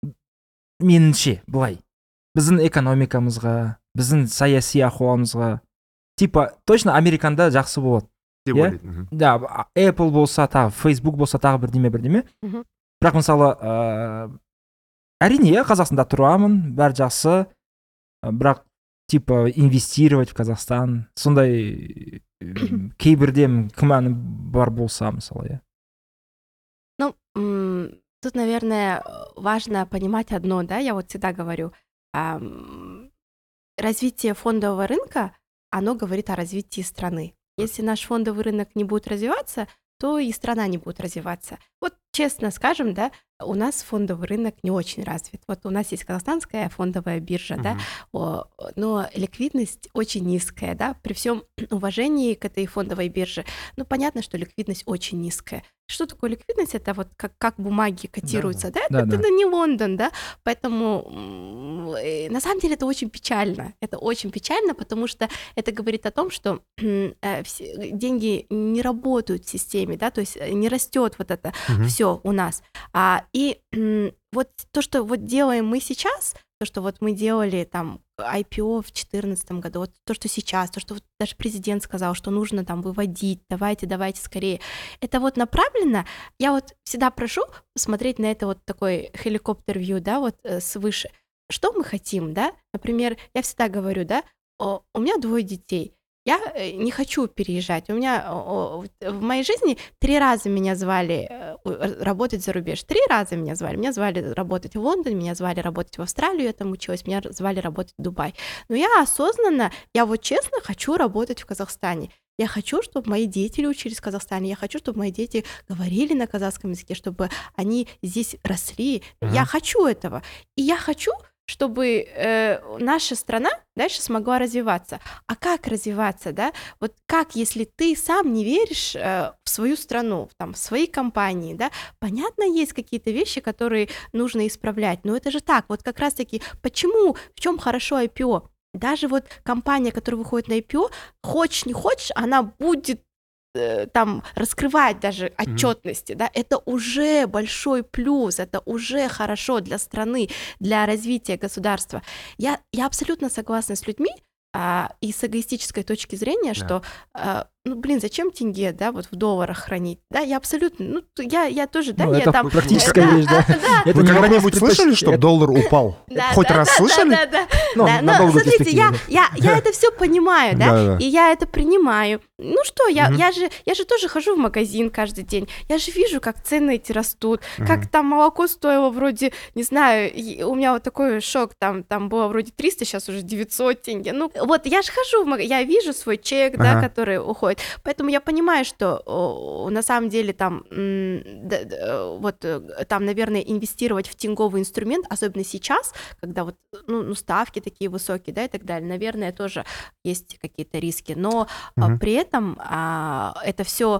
C: Меніңше, былай. Біздің экономикамызға, біздің саяси ахуалымызға. Типа, точно американда жақсы болады.
B: деп
C: Иә?
B: ойлайды. Мгм.
C: Да, а- Apple болса, та Facebook болса, тағы бірдеме бірдеме.
A: Мгм.
C: Бірақ мысалы, ә, әрине, иә, Қазақстанда тұрамын, бәрі жақсы, ә, бірақ типа инвестировать в Казахстан, сондай м, кейбірде күмәнім бар болса, мысалы, иә.
A: Ну, м, тут, наверное, важно понимать одно, да, я вот всегда говорю, ам, развитие фондового рынка, оно говорит о развитии страны. Если наш фондовый рынок не будет развиваться, то и страна не будет развиваться. Вот честно скажем, да, у нас фондовый рынок не очень развит. Вот у нас есть казахстанская фондовая биржа, да,
B: Мгм.
A: о, но ликвидность очень низкая, да, при всем уважении к этой фондовой бирже, ну, понятно, что ликвидность очень низкая. Что такое ликвидность? Это вот как, как бумаги котируются, да,
C: Да,
A: это,
C: да.
A: это не Лондон, да, поэтому м, э, на самом деле это очень печально, это очень печально, потому что это говорит о том, что э, все- деньги не работают в системе, да, то есть э, не растет вот это
B: Мгм.
A: все у нас. А, и м, вот то, что вот делаем мы сейчас, то, что вот мы делали там ай пи о в две тысячи четырнадцатом году, вот то, что сейчас, то, что вот даже президент сказал, что нужно там выводить, давайте, давайте скорее. Это вот направлено, я вот всегда прошу посмотреть на это вот такой хеликоптер-вью, да, вот э, свыше. Что мы хотим, да? Например, я всегда говорю, да, о, у меня двое детей, я э, не хочу переезжать. У меня о, о, в моей жизни три раза меня звали э, у- работать за рубеж. Три раза меня звали. Меня звали работать в Лондон, меня звали работать в Австралию, я там училась, меня звали работать в Дубай. Но я осознанно, я вот честно хочу работать в Казахстане. Я хочу, чтобы мои дети учились в Казахстане. Я хочу, чтобы мои дети говорили на казахском языке, чтобы они здесь росли.
B: Мгм.
A: Я хочу этого. И я хочу, чтобы э, наша страна дальше смогла развиваться. А как развиваться, да? Вот как, если ты сам не веришь э, в свою страну, там, в свои компании, да? Понятно, есть какие-то вещи, которые нужно исправлять, но это же так. Вот как раз-таки, почему, в чем хорошо ай пи о? Даже вот компания, которая выходит на ай пи о, хочешь не хочешь, она будет э, там раскрывать даже отчетности, да, это уже большой плюс, это уже хорошо для страны, для развития государства. Я, я абсолютно согласна с людьми, а, и с эгоистической точки зрения,
B: Да.
A: что а, ну, блин, зачем тенге, да, вот в долларах хранить, да, я абсолютно, ну, я, я тоже, да,
C: Ну,
A: я
C: это
A: там...
C: практическая
A: Да,
C: вещь, да.
A: да, да.
C: Это
B: Вы
C: не вопрос
B: когда-нибудь слышали, что
C: предпочтения.
B: доллар упал?
A: Да,
B: Хоть
A: да,
B: раз
A: да,
B: слышали?
A: Да, да, да.
C: Ну,
A: Да,
C: на
A: но
C: долгую
A: смотрите, я,
C: перспективу.
A: я, я это все понимаю, да,
B: Да-да-да.
A: и я это принимаю. Ну что, я,
B: Мгм.
A: я, же, я же тоже хожу в магазин каждый день, я же вижу, как цены эти растут,
B: Мгм.
A: как там молоко стоило вроде, не знаю, и у меня вот такой шок, там, там было вроде триста, сейчас уже девятьсот тенге. Ну, вот я же хожу в магазин, я вижу свой чек, да,
B: Ага.
A: который уходит, поэтому я понимаю, что о, на самом деле там, м, да, да, вот э, там, наверное, инвестировать в тенговый инструмент, особенно сейчас, когда вот, ну, ну, ставки такие высокие, да, и так далее, наверное, тоже есть какие-то риски, но а,
B: Мгм.
A: при этом а, это все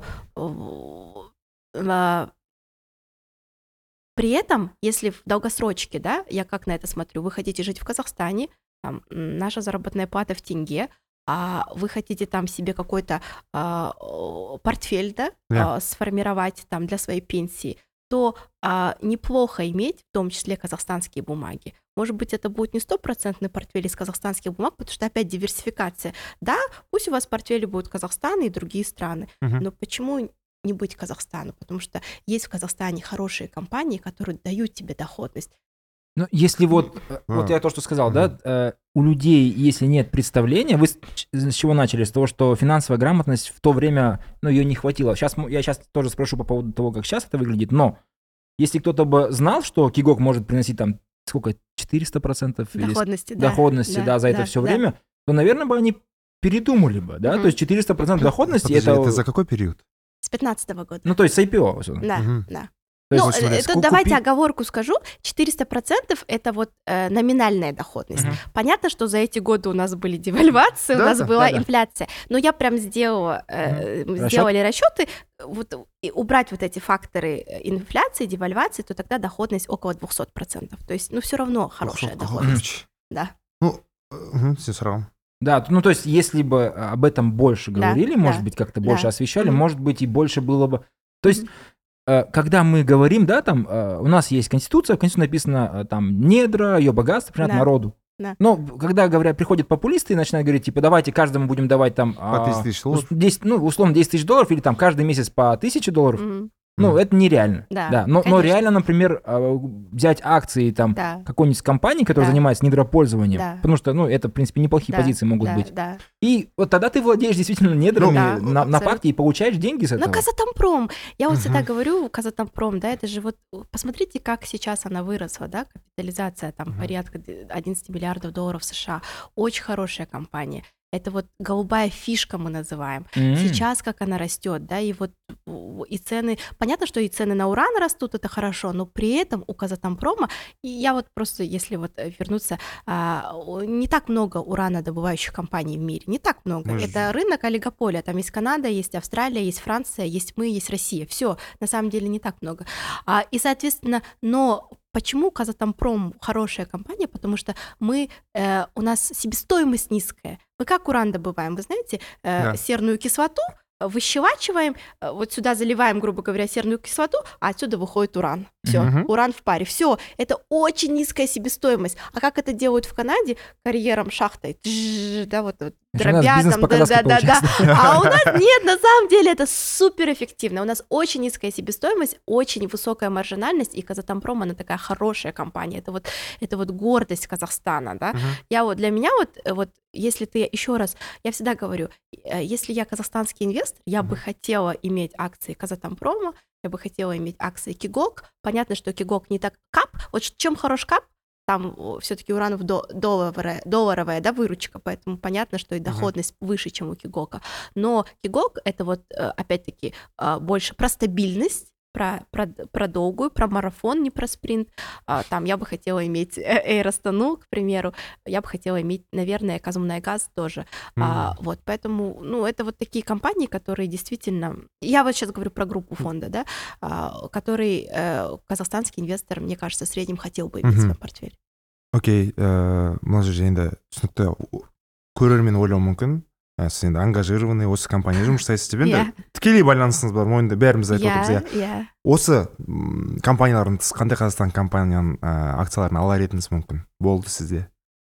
A: при этом, если в долгосрочке, да, я как на это смотрю, вы хотите жить в Казахстане, там, м, наша заработная плата в тенге, а вы хотите там себе какой-то а, о, портфель, да,
B: Да.
A: а, сформировать там для своей пенсии, то а, неплохо иметь в том числе казахстанские бумаги. Может быть, это будет не стопроцентный портфель из казахстанских бумаг, потому что опять диверсификация. Да, пусть у вас в портфеле будут Казахстан и другие страны,
B: Мгм.
A: но почему не быть Казахстану? Потому что есть в Казахстане хорошие компании, которые дают тебе доходность.
C: Ну, если вот, э,
B: А.
C: вот я то, что сказал,
B: Мгм.
C: да, э, у людей, если нет представления, вы с, ч- с чего начали? С того, что финансовая грамотность в то время, ну, ее не хватило. Сейчас я сейчас тоже спрошу по поводу того, как сейчас это выглядит, но если кто-то бы знал, что Кигок может приносить там сколько, четыреста процентов или с-
A: Доходности, да.
C: доходности, да, за это все
A: да.
C: время, то, наверное, бы они передумали бы, да,
A: Мгм.
C: то есть четыреста процентов доходности,
B: Подожди,
C: это,
B: это за какой период?
A: С пятнадцатого года.
C: ну, то есть с ай пи о. условно.
A: Да,
B: Мгм.
A: да.
C: То есть,
A: Ну,
C: вот смотри,
A: э,
C: ску-
A: тут давайте
C: купи-
A: оговорку скажу. четыреста процентов это вот э, номинальная доходность.
C: Мгм.
A: Понятно, что за эти годы у нас были девальвации, у
B: Да,
A: нас
B: да,
A: была
C: да, да.
A: инфляция. Но я прям сделала, э, мы
C: Расчёт?
A: сделали расчеты, вот и убрать вот эти факторы э, инфляции, девальвации, то тогда доходность около двести процентов. То есть, ну, все равно хорошая
B: Ох,
A: доходность.
B: короче.
A: Да.
B: Ну, мгм, сен сұрағым.
C: Да, т- ну то есть, если бы э, об этом больше
A: Да,
C: говорили,
A: да,
C: может быть, как-то больше
A: да.
C: освещали,
A: Мгм.
C: может быть, и больше было бы. То есть,
A: Мгм.
C: э, когда мы говорим, да, там, э, у нас есть конституция, в конституции написано, э, там, недра, ее богатство, принято
A: Да.
C: народу.
A: Да.
C: Но когда говорят, приходят популисты и начинают говорить, типа, давайте каждому будем давать там...
B: По
C: а,
B: тысяч тысяч долларов.
C: ус- десять, ну, условно, десять тысяч долларов или там каждый месяц по тысяче долларов.
A: Мгм.
C: Ну,
B: Мгм.
C: это нереально.
A: Да,
C: Но, но
A: конечно.
C: реально, например, э, взять акции там
A: Да.
C: какой-нибудь компании, которая
A: Да.
C: занимается недропользованием,
A: Да.
C: потому что, ну, это, в принципе, неплохие
A: Да,
C: позиции могут
A: да,
C: быть.
A: Да.
C: И вот тогда ты владеешь действительно недрами
A: Ну, да,
C: на, на
A: абсолютно.
C: парке и получаешь деньги с этого.
A: Ну, Казатомпром. Я вот всегда
B: Мгм.
A: говорю, Казатомпром, да, это же вот, посмотрите, как сейчас она выросла, да, капитализация там
B: Мгм.
A: порядка одиннадцать миллиардов долларов США. Очень хорошая компания. Это вот голубая фишка мы называем.
C: М.
A: Сейчас как она растет, да, и вот у- и цены, понятно, что и цены на уран растут, это хорошо, но при этом у Казатомпрома, и я вот просто, если вот э, вернуться, а, о, не так много уранодобывающих компаний в мире, не так много.
B: Мы ж-
A: Это рынок олигополия, там есть Канада, есть Австралия, есть Франция, есть мы, есть Россия, все, на самом деле не так много. А, и, соответственно, но почему Казатомпром хорошая компания? Потому что мы, э, у нас себестоимость низкая. Мы как уран добываем? Вы знаете, э,
B: Да.
A: серную кислоту выщелачиваем, э, вот сюда заливаем, грубо говоря, серную кислоту, а отсюда выходит уран. Все,
B: Мгм.
A: уран в паре. Все, это очень низкая себестоимость. А как это делают в Канаде? Карьером, шахтой, тжж, да, вот, вот
C: Значит, у нас
A: дробя
C: бизнес
A: там,
C: по-казахски
A: да-да-да.
C: получается.
A: А у нас нет, на самом деле это суперэффективно. У нас очень низкая себестоимость, очень высокая маржинальность, и Казатомпром, она такая хорошая компания. Это вот, это вот гордость Казахстана, да.
B: Мгм.
A: Я вот, для меня вот, э, вот, если ты, еще раз, я всегда говорю, э, если я казахстанский инвестор, я бы
B: Мгм.
A: хотела иметь акции Казатомпрома, я бы хотела иметь акции Кигок. Понятно, что Кигок не так... КАП, вот ш- чем хорош КАП, там все-таки уранов до, долларовая, долларовая, да, выручка, поэтому понятно, что и доходность выше, чем у Кигока. Но Кигок — это вот, э, опять-таки, э, больше про стабильность, про, про, про долгую, про марафон, не про спринт. А, там я бы хотела иметь э, Эйр Астану, к примеру, я бы хотела иметь, наверное, Казмунайгаз тоже. А,
B: М.
A: вот, поэтому, ну, это вот такие компании, которые действительно... Я вот сейчас говорю про группу фонда, да, а, который э, казахстанский инвестор, мне кажется, в среднем хотел бы иметь в
B: Мгм.
A: своем портфеле.
B: Окей, э, мына жерде енді түсінікті көрермен ойлауы мүмкін. Ә, сіз енді ангажированный осы компания жұмыс жасайсыз деп енді
A: Иә.
B: тікелей байланысыңыз бар мойында бәріміз айтып отырмыз
A: Иә,
B: иә.
A: иә.
B: Осы м, компаниялардың тыс қандай қазақстан компанияның ә, акцияларын алар едіңіз мүмкін болды сізде?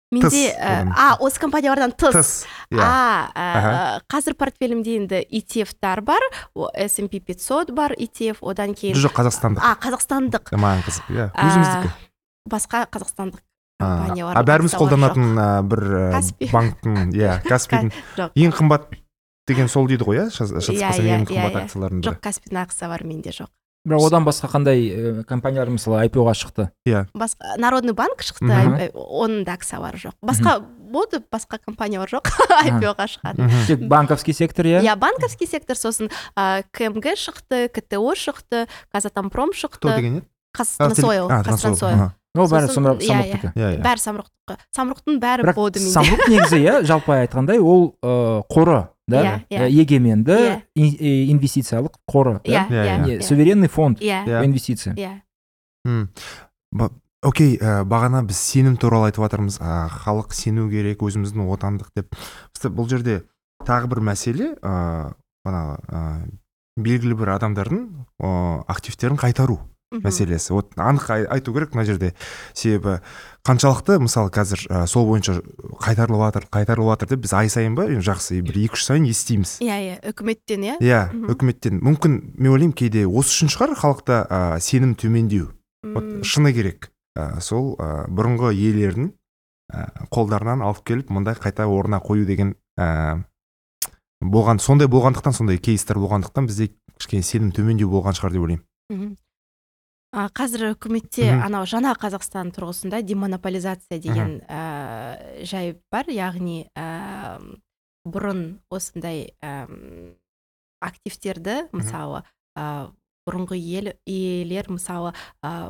A: менде
B: Тыс,
A: ә,
B: одан.
A: а осы компаниялардан тыс
B: Тыс. Иә.
A: а ә,
B: Аха.
A: қазір портфелімде енді и ти эф-тар бар, о, эс энд пи пятьсот бар и ти эф, одан кейін
B: жоқ қазақстандық.
A: а қазақстандық
B: Маған қызық, иә.
A: а,
B: Өзіміздікі.
A: басқа қазақстандық
B: А,
A: компаниялар
B: а бәріміз
A: бар,
B: қолданатын а, бір а,
A: Каспи.
B: банктың, иә, Каспидің
A: жоқ
B: ең қымбат деген сол дейді ғой, иә? Шатыс
A: Иә,
B: қасаң
A: иә,
B: ең
A: иә,
B: қымбат
A: иә.
B: акциялардың
A: жоқ
B: бірі.
A: Каспидің ақысы бар, менде жоқ.
C: бірақ одан басқа қандай э, компаниялар мысалы ай пи о-ға шықты?
A: Басқа Народный банк шықты,
C: Мгм.
A: ай- оның да акциялары жоқ. Басқа болды, басқа компаниялар жоқ ай пи о-ға шығады.
B: Мгм.
C: Тек банковский сектор, иә?
A: Иә, банковский сектор, сосын ә, ка эм гэ шықты, ка тэ о шықты, Казатомпром
B: Кто
A: шықты,
B: деген еді?
A: Казтрансойл,
B: А,
A: Казтрансойл.
C: Ол бәрі
A: Сосын,
C: самұрық-
A: иә,
C: самұрықтікі.
B: Иә, иә.
A: Бәрі самұрықтікі. Самұрықтың бәрі
C: Бірақ
A: болды менде.
C: самұрық негізі, иә, жалпы айтқандай, ол э, қоры, да?
A: Иә, иә.
C: Э, егеменді
A: Иә.
C: ин- э, инвестициялық қоры,
A: Иә,
C: да?
B: Иә,
A: иә,
C: Не,
A: иә.
C: суверенный фонд
A: Иә,
B: Иә.
C: по инвестициям.
A: иә.
B: М. Ба- Окей, ә, бағана біз сенім туралы айтып жатырмыз. А, халық сену керек, өзіміздің отандық деп. Бізде бұл жерде тағы бір мәселе, ә, ана ә, белгілі бір адамдардың ә, активтерін қайтару
A: Мгм.
B: мәселесі. Вот анық ай- айту керек мына жерде. Себебі қаншалықты мысалы қазір ә, сол бойынша қайтарылып жатыр, қайтарылып жатыр деп біз ай сайын ба енді жақсы бір екі үш сайын естиміз.
A: Иә, иә, үкіметтен, иә.
B: Иә,
A: Мгм.
B: үкіметтен. Мүмкін мен ойлаймын кейде осы үшін шығар халықта ә, сенім төмендеу. Вот
A: М,
B: шыны керек. Ә, сол ә, бұрынғы иелердің ә, қолдарынан алып келіп мындай қайта орнына қою деген ә, болған, сондай болғандықтан, сондай кейстер болғандықтан бізде кішкене сенім төмендеу болған шығар деп ойлаймын.
A: мгм. А, қазір үкіметте
B: Мгм.
A: анау жаңа Қазақстан тұрғысында демонополизация деген ә, жай бар, яғни ә, бұрын осындай ә, активтерді мысалы ә, бұрынғы ел иелер мысалы ә,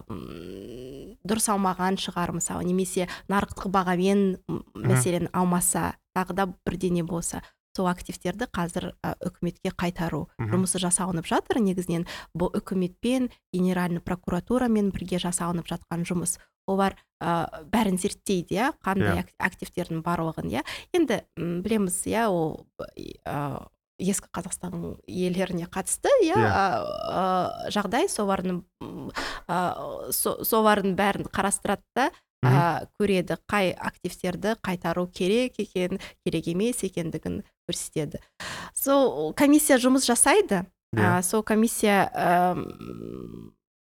A: м, дұрыс алмаған шығар мысалы, немесе нарықтық бағамен м, мәселен алмаса, тағы да бірдеңе болса, сол активтерді қазір ә, үкіметке қайтару
B: Мгм.
A: жұмысы жасалынып жатыр. Негізінен бұл үкіметпен генеральный прокуратурамен бірге жасалынып жатқан жұмыс. Олар ә, бәрін зерттейді, иә, қандай
B: Иә.
A: ак- активтердің барлығын, иә. Енді м, білеміз, иә, ол ә, ескі Қазақстан иелеріне қатысты, иә,
B: Иә.
A: ә, ә, жағдай, солардың м, ә, со- солардың бәрін қарастырады да ә, көреді қай активтерді қайтару керек екен, керек емес екендігін көрсетеді. Сол комиссия жұмыс жасайды.
B: Иә.
A: ә, сол комиссия әм,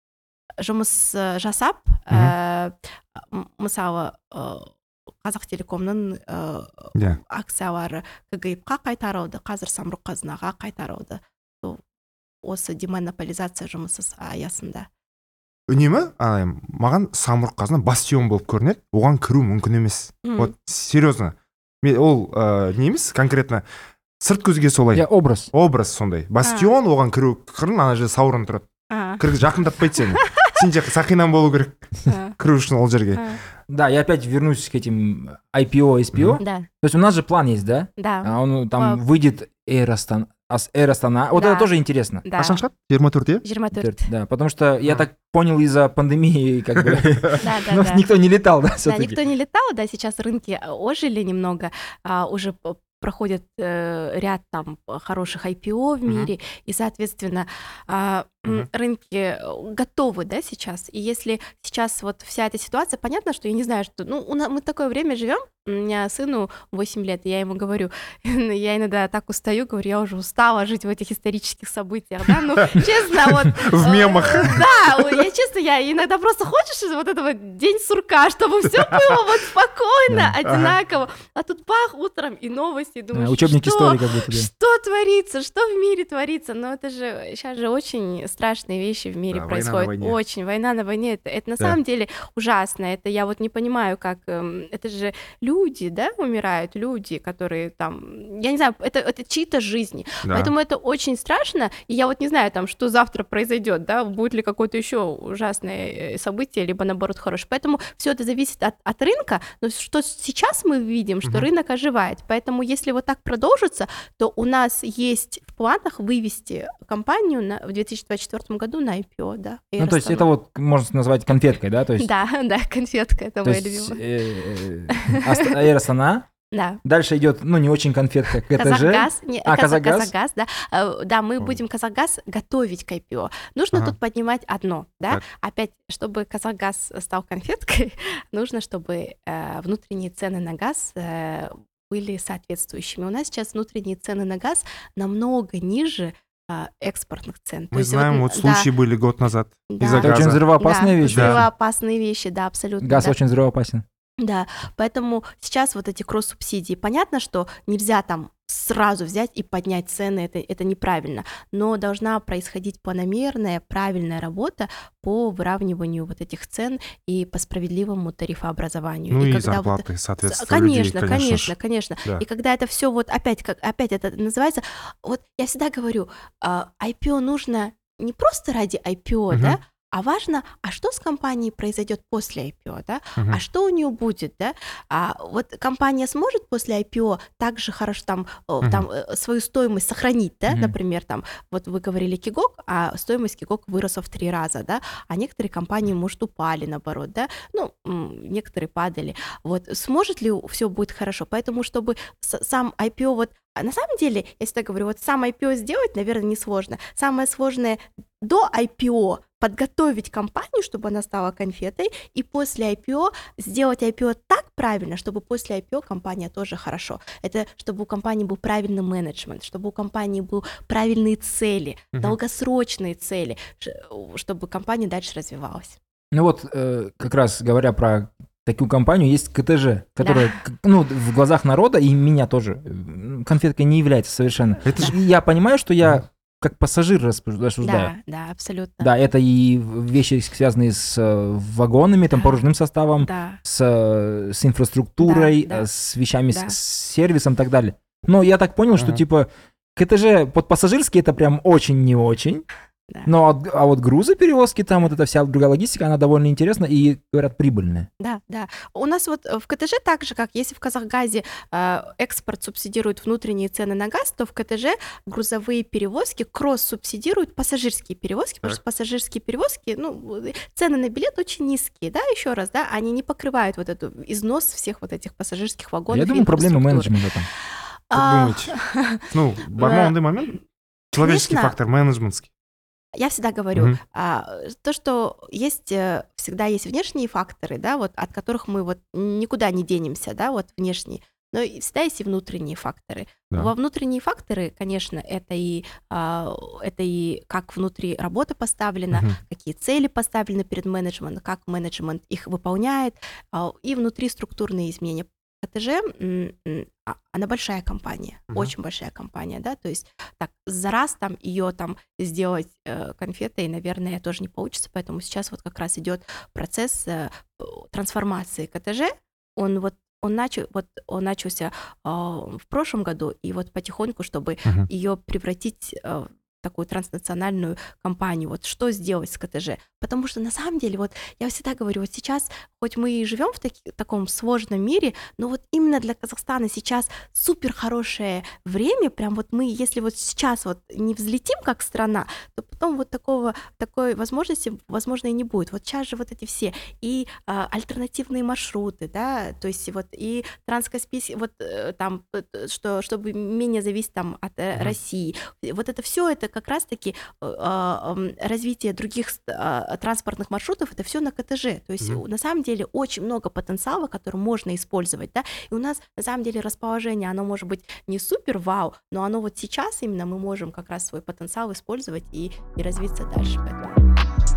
A: жұмыс ә, жасап,
B: Мгм.
A: ә, м- мысалы ә, Қазақтелекомның ә,
B: Иә.
A: акциялары ка гэ эф-қа қайтарылды, қазір самұрық қазынаға қайтарылды. Сол осы демонополизация жұмысы аясында.
B: Үнемі а, маған самұрық қазына бастион болып көрінеді, оған кіру мүмкін емес.
A: Мгм.
B: Вот серьезно. Мен ол ә, не емес, конкретно сырт көзге солай.
C: Иә, образ.
B: Образ сондай. Бастион, оған кіру қырын, ана жерде Саурон тұрады.
A: А,
B: Кір жақындатпайды сені. Сен же сақинан болу керек
A: а,
B: кіру үшін ол жерге.
A: а.
C: Да, я опять вернусь к этим ай пи о, эс пи о.
A: Да,
C: То есть у нас же план есть, да?
A: да,
C: А он там
A: А.
C: выйдет Air Astana. Ас- Air Astana. Вот
A: Да.
C: это тоже интересно.
A: да.
B: Қашан шығады? жиырма төрт, иә?
A: жиырма төрт.
C: Да, потому что я
B: А.
C: так понял, из-за пандемии как бы
A: Да, да,
C: ну,
A: да.
C: никто не летал, да,
A: Да,
C: все-таки.
A: никто не летал, да, сейчас рынки ожили немного, а, уже п- проходит э, ряд там хороших ай пи о в
B: Мгм.
A: мире, и, соответственно, а, м,
B: Мгм.
A: рынки готовы, да, сейчас. И если сейчас вот вся эта ситуация, понятно, что я не знаю, что, ну, у нас, мы такое время живем, у меня сыну восемь лет, и я ему говорю, я иногда так устаю, говорю, я уже устала жить в этих исторических событиях, да, ну, честно, вот...
B: В мемах.
A: э, Да, я честно, я иногда просто хочешь вот этого день сурка, чтобы все было вот спокойно,
C: Да.
A: одинаково, а тут бах, утром и новости, и
C: Да,
A: думаешь,
C: Учебник
A: что?
C: истории как будто, да.
A: Что творится, что в мире творится? Но это же сейчас же очень страшные вещи в мире
B: Да, война на
A: происходят.
B: войне.
A: Очень война на войне. Это, это на
B: Да.
A: самом деле ужасно. Это я вот не понимаю, как эм, это же люди, да, умирают, люди, которые там, я не знаю, это, это чьи-то жизни.
B: Да.
A: Поэтому это очень страшно. И я вот не знаю, там, что завтра произойдет, да, будет ли какое-то еще ужасное э, событие, либо наоборот хорошее. Поэтому все это зависит от, от рынка. Но что сейчас мы видим, что
B: Мгм.
A: рынок оживает. Поэтому если вот так продолжится, то у нас есть в планах вывести компанию на, в две тысячи двадцать четвёртом году на ай пи о, да.
C: Ну, то есть
A: Air
C: это вот можно назвать конфеткой, да? То
A: Astana.
C: есть,
A: Да, да, конфетка, это
C: то
A: моя
C: есть
A: любимая.
C: э, э, Аст- Air Astana,
A: Да.
C: Дальше идет, ну, не очень конфетка, КТЖ.
A: Казахгаз, не,
C: А,
A: Казах-
C: Казахгаз?
A: Казахгаз, да. Э, Да, мы
B: Ой.
A: будем Казахгаз готовить к ай пи о. Нужно
B: Ага.
A: тут поднимать одно, да.
B: Так.
A: Опять, чтобы Казахгаз стал конфеткой, нужно, чтобы э, внутренние цены на газ э, были соответствующими. У нас сейчас внутренние цены на газ намного ниже э, экспортных цен. То
B: Мы
A: есть
B: знаем,
A: вот,
B: вот
A: да,
B: случаи были год назад
A: да.
B: из-за
C: Это очень
B: газа.
C: взрывоопасная
A: да,
C: вещь.
B: Да.
A: взрывоопасные вещи, да, абсолютно.
C: Газ
A: да.
C: очень взрывоопасен.
A: Да, поэтому сейчас вот эти кросс-субсидии, понятно, что нельзя там сразу взять и поднять цены, это, это неправильно, но должна происходить планомерная, правильная работа по выравниванию вот этих цен и по справедливому тарифообразованию.
B: Ну и,
A: когда вот-
B: зарплаты, соответственно, людей,
A: Конечно,
B: конечно,
A: конечно,
B: же.
A: конечно.
B: Да.
A: И когда это все вот опять, как опять это называется, вот я всегда говорю, а, ай пи о нужно не просто ради ай пи о,
B: Мгм.
A: да, а важно, а что с компанией произойдет после ай пи о, да,
B: Мгм.
A: а что у нее будет, да, а вот компания сможет после ай пи о также хорошо там, э,
B: Мгм.
A: там э, свою стоимость сохранить, да,
C: Мгм.
A: например, там, вот вы говорили Кигок, а стоимость Кигок выросла в три раза, да, а некоторые компании, может, упали, наоборот, да, ну, м, некоторые падали, вот, сможет ли все будет хорошо, поэтому, чтобы с- сам ай пи о, вот, а на самом деле, я всегда говорю, вот сам ай пи о сделать, наверное, несложно, самое сложное до ай пи о подготовить компанию, чтобы она стала конфетой, и после ай пи о сделать ай пи о так правильно, чтобы после ай пи о компания тоже хорошо. Это чтобы у компании был правильный менеджмент, чтобы у компании были правильные цели,
B: Мгм.
A: долгосрочные цели, ш- чтобы компания дальше развивалась.
C: Ну вот, э, как раз говоря про такую компанию, есть КТЖ, которая, к- ну, в глазах народа, и меня тоже, э, конфеткой не является совершенно.
B: Это же-
C: И я понимаю, что я как пассажир рассуждаю. рассуждаю.
A: Да, да, абсолютно.
C: Да, это и вещи, связанные с э, вагонами, там,
A: Да.
C: погружным составом,
A: Да,
C: с, э, с инфраструктурой,
A: Да, да.
C: э, с вещами,
A: Да.
C: с, с сервисом и так далее. Но я так понял, что,
B: Ага.
C: типа, КТЖ под пассажирский это прям очень не очень.
A: да.
C: Но от- а вот грузоперевозки, там вот эта вся другая логистика, она довольно интересна и, говорят, прибыльная.
A: Да, да. У нас вот э, в КТЖ так же, как если в Казахгазе э, экспорт субсидирует внутренние цены на газ, то в КТЖ грузовые перевозки кросс-субсидируют пассажирские перевозки, потому
B: Так.
A: что пассажирские перевозки, ну, э, цены на билет очень низкие, да, еще раз, да, они не покрывают вот эту износ всех вот этих пассажирских вагонов.
C: Я
A: и
C: думаю, проблема
A: инфраструктуры.
C: менеджмента там.
B: Как
A: А,
B: думаете? Ну, бармонный момент? Человеческий
A: Конечно.
B: фактор, менеджментский.
A: Я всегда говорю,
B: Мгм.
A: а, то, что есть, э, всегда есть внешние факторы, да, вот от которых мы вот никуда не денемся, да, вот внешние, но и всегда есть и внутренние факторы.
B: Да.
A: Во внутренние факторы, конечно, это и, а, это и как внутри работа поставлена,
B: Мгм.
A: какие цели поставлены перед менеджментом, как менеджмент их выполняет, а, и внутри структурные изменения. КТЖ, м, м, а- она большая компания,
B: Мгм.
A: очень большая компания, да, то есть так за раз там ее там сделать э, конфетой, наверное, тоже не получится, поэтому сейчас вот как раз идет процесс э, п- трансформации КТЖ, он вот он начал, вот он начался э, в прошлом году, и вот потихоньку, чтобы
B: Мгм.
A: ее превратить э, в такую транснациональную компанию, вот что сделать с КТЖ, потому что на самом деле, вот я всегда говорю, вот сейчас, хоть мы и живем в таки- таком сложном мире, но вот именно для Казахстана сейчас супер хорошее время, прям вот мы, если вот сейчас вот не взлетим как страна, то потом вот такого, такой возможности, возможно, и не будет. Вот сейчас же вот эти все и а, альтернативные маршруты, да, то есть вот и транскаспийский, вот э, там, э, что, чтобы менее зависеть там от э,
B: Мгм.
A: России. Вот это все, это как раз-таки э, а, м, развитие других ст- а, транспортных маршрутов, это все на КТЖ. То есть
B: Мгм.
A: на самом деле очень много потенциала, который можно использовать, да, и у нас на самом деле расположение, оно может быть не супер вау, но оно вот сейчас именно мы можем как раз свой потенциал использовать и, и развиться дальше. Поэтому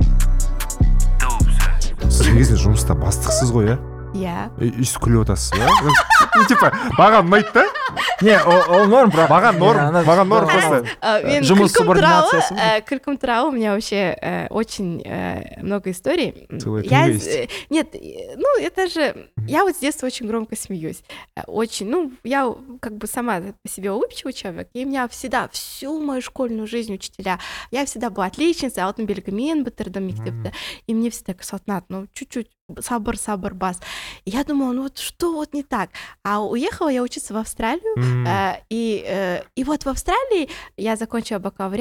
B: Сіз негізінде жұмыста бастықсыз ғой, иә?
A: я
B: И- Өйстіп күліп отырсыз, иә? Ну, типа, маған ұнайды да?
C: Не, ол ол норм, бірақ.
B: Маған норм,
C: Ана-
B: маған норм
C: да,
B: просто.
A: А, мен
C: Жұмыс
A: күлкім туралы,
C: субординациясы.
A: э, күлкім туралы у меня вообще э, очень э, много историй.
B: Целая
A: Я,
B: книга
A: с-
B: есть.
A: э, нет, э, ну это же, я вот с детства очень громко смеюсь, Э, очень, ну я как бы сама по себе улыбчивый человек, и у меня всегда всю мою школьную жизнь учителя, я всегда была отличницей, алтын белгімен бітірдім мектепті, и мне всегда Салтанат, ну чуть-чуть сабыр, сабыр, бас. И я думала, ну вот что вот не так? А уехала я учиться в Австралию,
B: М,
A: Э, и, э, и вот в Австралии я закончила бакалавриат,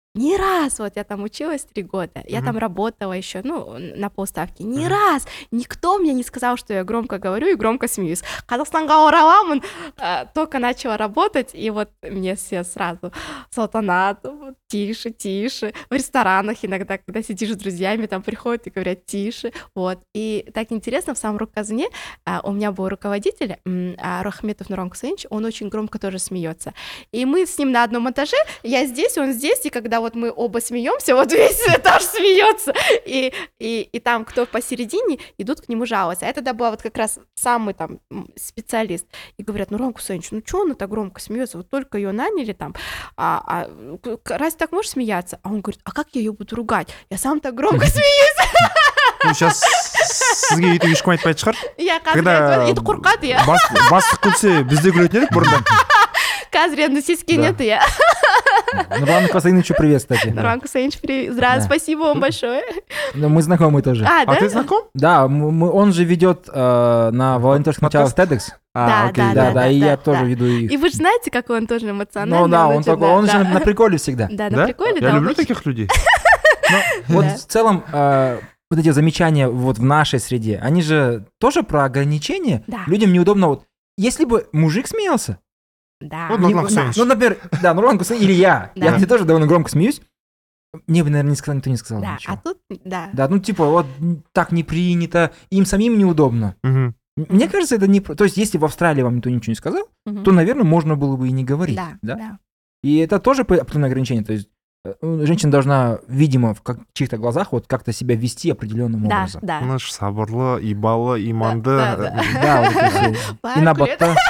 A: Ни раз, вот я там училась три года, я
B: Мгм.
A: там работала еще, ну, на полставки. Ни раз никто мне не сказал, что я громко говорю и громко смеюсь. Казахстанга ораламын, э, только начала работать, и вот мне все сразу: Салтанат, вот, тише, тише. В ресторанах иногда, когда сидишь с друзьями, там приходят и говорят: тише. Вот. И так интересно, в самом Руказне а, у меня был руководитель, м, а, Рахметов Нуран Кусейнович, он очень громко тоже смеется. И мы с ним на одном этаже, я здесь, он здесь, и когда вот мы оба смеемся, вот весь этаж смеется, и, и, и там кто посередине, идут к нему жаловаться. А это тогда была вот как раз самый там м, специалист. И говорят: Нуран Кусейнович, ну что она так громко смеется? Вот только ее наняли там, а, а к- к- разве так можешь смеяться? А он говорит: а как я ее буду ругать? Я сам так громко смеюсь.
B: Ну, сейчас сізге өйтіп ешкім айтпайтын шығар.
A: Я
B: Когда
A: қазір қорқады, я.
B: бас- бастық күлсе біз де күлетін едік бұрында.
A: Қазір енді сескенеді, я.
C: Нурлану Касаиновичу привет, кстати.
A: Нуран Кусейнович, привет. Здравствуй,
C: Да.
A: спасибо вам большое.
C: Ну, мы знакомы тоже.
A: А,
B: А
A: да?
B: ты знаком?
C: Да, м- мы- он же ведет э, на волонтерских началах TEDx.
B: А,
A: Да,
B: окей.
A: да,
C: Да, да, и я
A: да.
C: тоже веду их.
A: И вы же знаете, какой он тоже эмоциональный.
C: Ну да, он
A: очень,
C: такой,
A: да,
C: он же
A: да.
C: на приколе всегда.
A: Да, на
B: Да?
A: приколе,
B: Я
A: да.
B: люблю
A: очень.
B: таких людей.
C: Вот
A: Да.
C: в целом э, вот эти замечания вот в нашей среде, они же тоже про ограничения.
A: Да.
C: Людям неудобно вот. Если бы мужик смеялся,
A: Да.
B: Вот
C: не-
B: Нурлан Кусейнович.
C: ну, например, да, Нурлан Кусейнович или я,
A: Да.
C: я мне тоже довольно громко смеюсь, мне бы, наверное, не сказал, никто не сказал
A: Да,
C: ничего.
A: а тут, да.
C: Да, ну типа вот м, так не принято, им самим неудобно.
B: Мгм.
C: М- Мне кажется, это не... про- То есть, если в Австралии вам никто ничего не сказал,
A: Мгм.
C: то, наверное, можно было бы и не говорить.
A: Да, да.
C: И это тоже п- определенное ограничение. То есть, э, женщина должна, видимо, в как- чьих-то глазах вот как-то себя вести определенным
A: Да,
C: образом.
A: да.
B: Тыныш, сабырлы, ибалы, иманды.
A: Да, да, да.
C: Да, вот это всё.
A: Бай,
C: И на
A: привет.
C: бота.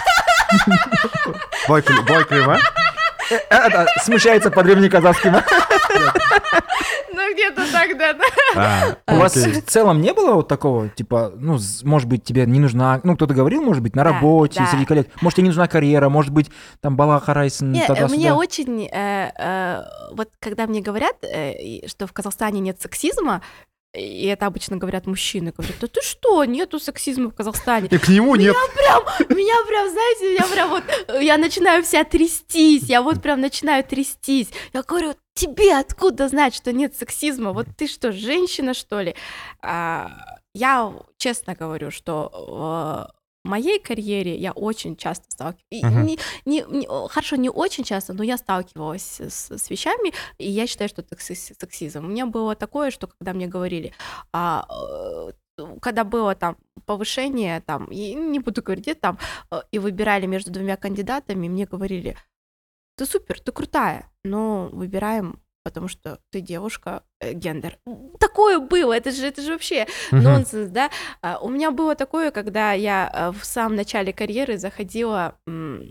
B: Былай күле- былай күле ма?
C: Это смущается по древнеказахским.
A: Ну, где-то так, да, да.
B: А,
C: У вас
B: окей.
C: в целом не было вот такого, типа, ну, з- может быть, тебе не нужна, ну, кто-то говорил, может быть, на
A: Да,
C: работе,
A: да.
C: среди коллег, может, тебе не нужна карьера, может быть, там, бала харайсын,
A: Не, э,
C: туда-сюда.
A: мне очень, э, э, вот когда мне говорят, э, и что в Казахстане нет сексизма, и это обычно говорят мужчины, говорят: да ты что, нету сексизма в Казахстане.
B: И к нему нет.
A: Прям, меня прям, знаете, я прям вот, э, я начинаю вся трястись, я вот прям начинаю трястись. Я говорю: тебе откуда знать, что нет сексизма? Вот ты что, женщина, что ли? А, я честно говорю, что э, в моей карьере я очень часто сталкиваюсь.
B: Мгм.
A: Не, не- не- хорошо, не очень часто, но я сталкивалась с, с вещами, и я считаю, что это секс- сексизм. У меня было такое, что когда мне говорили, а, э, когда было там повышение, там, и не буду говорить, где там, э, и выбирали между двумя кандидатами, мне говорили: ты супер, ты крутая, но выбираем, потому что ты девушка, э, гендер. Такое было, это же, это же вообще
B: Мгм.
A: нонсенс, да? А, У меня было такое, когда я э, в самом начале карьеры заходила, м,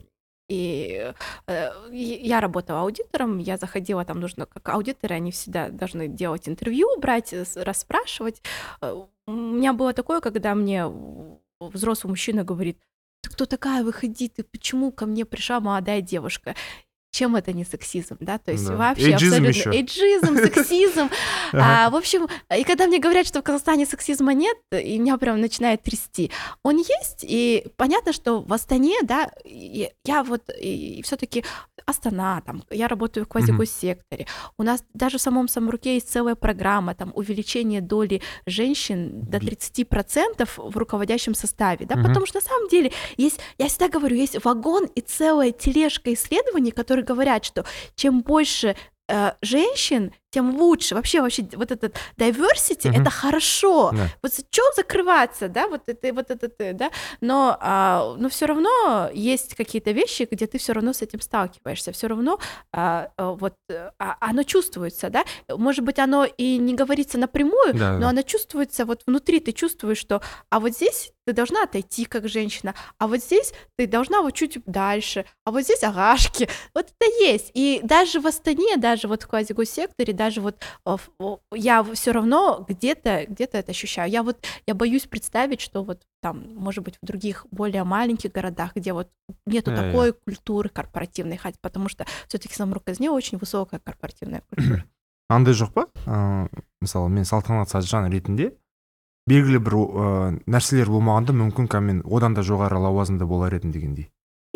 A: и э, и я работала аудитором, я заходила, там нужно, как аудиторы, они всегда должны делать интервью, брать, э, с- расспрашивать. Э, У меня было такое, когда мне в- взрослый мужчина говорит: ты кто такая, выходи, ты почему ко мне пришла молодая девушка? Чем это не сексизм, да? То есть
B: Да.
A: вообще
B: Эйджизм
A: абсолютно
B: ещё.
A: эйджизм, сексизм.
B: Ага.
A: А, в общем, и когда мне говорят, что в Казахстане сексизма нет, и меня прям начинает трясти. Он есть, и понятно, что в Астане, да, и я вот все-таки Астана, там, я работаю в квазигоссекторе. У нас даже в самом Самруке есть целая программа, там, увеличение доли женщин до тридцати процентов в руководящем составе, да,
B: Мгм.
A: потому что на самом деле есть, я всегда говорю, есть вагон и целая тележка исследований, которые говорят, что чем больше э, женщин, тем лучше. Вообще, вообще, вот этот diversity,
B: Мгм.
A: это хорошо.
B: Да.
A: Вот что закрываться, да, вот это, вот это, э, да, но, а, но все равно есть какие-то вещи, где ты все равно с этим сталкиваешься, все равно а, а, вот э, а, оно чувствуется, да, может быть, оно и не говорится напрямую,
B: Да,
A: но
B: да.
A: оно чувствуется вот внутри, ты чувствуешь, что, а вот здесь ты должна отойти как женщина, а вот здесь ты должна вот чуть дальше, а вот здесь агашки, вот это есть, и даже в Астане, даже вот в квазигоссекторе, даже вот э, в- о, я все равно где-то где-то это ощущаю. Я вот я боюсь представить, что вот там, может быть, в других более маленьких городах, где вот нету
B: Я-я.
A: такой культуры корпоративной, хотя потому что все-таки в Самрук-Казне очень высокая корпоративная культура.
B: андай жоқ па ә, мысалы мен Салтанат Саджан ретінде белгілі бір ә, нәрселер болмағанда мүмкін ка мен одан да жоғары лауазымда болар едім дегендей.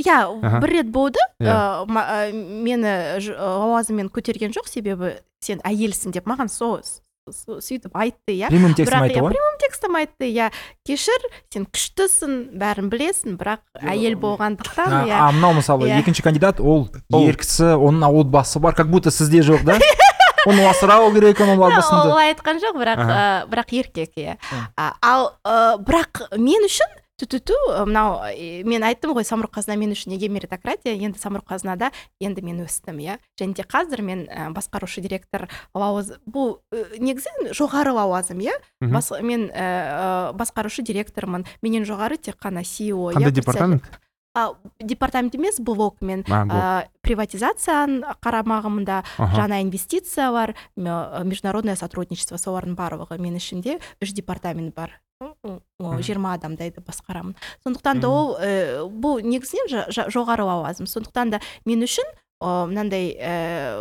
A: иә
B: Аха.
A: бір рет болды
B: Иә.
A: ә, ма- ә, мені ж- лауазыммен көтерген жоқ, себебі сен әйелсің деп маған со со- сөйтіп айтты, иә.
C: Прямым текстом
A: Бірақ
C: айтты
A: иә,
C: ғой.
A: прямым текстом айтты, иә, кешір, сен күштісің, бәрін білесің, бірақ әйел болғандықтан,
C: А,
A: иә.
C: а мынау мысалы
A: Иә.
C: екінші кандидат ол
B: Ол-
C: ер кісі, оның отбасы бар, как будто сізде жоқ, да? Оны асырау керек, оның
A: Ол
C: отбасында.
A: олай айтқан жоқ, бірақ
B: Аха.
A: ә, бірақ еркек, иә.
C: Мм.
A: А, ал ә, бірақ мен үшін түтүту мынау ә, мен айттым ғой, самұрық қазына мен үшін неге меритократия, енді самұрық қазынада енді мен өстім, иә. Және де қазір мен ә, басқарушы директор лауазым, бұл ә, негізі жоғары лауазым, иә.
B: Мгм.
A: Бас, мен ә, ә, басқарушы директормын, менен жоғары тек қана си и о.
B: Қандай
A: иә,
B: департамент?
A: А, департамент емес, блок мен
B: А, блок.
A: ә, приватизацияның қарамағымда
B: Аха.
A: жаңа инвестициялар, м- международное сотрудничество, солардың барлығы мен ішінде үш департамент бар. М, м, жиырма адамдайды басқарамын. Сондықтан да
B: Мгм.
A: ол ә, бұл негізінен жа- жа- жоғары лауазым. Сондықтан да мен үшін ә, мынандай ә,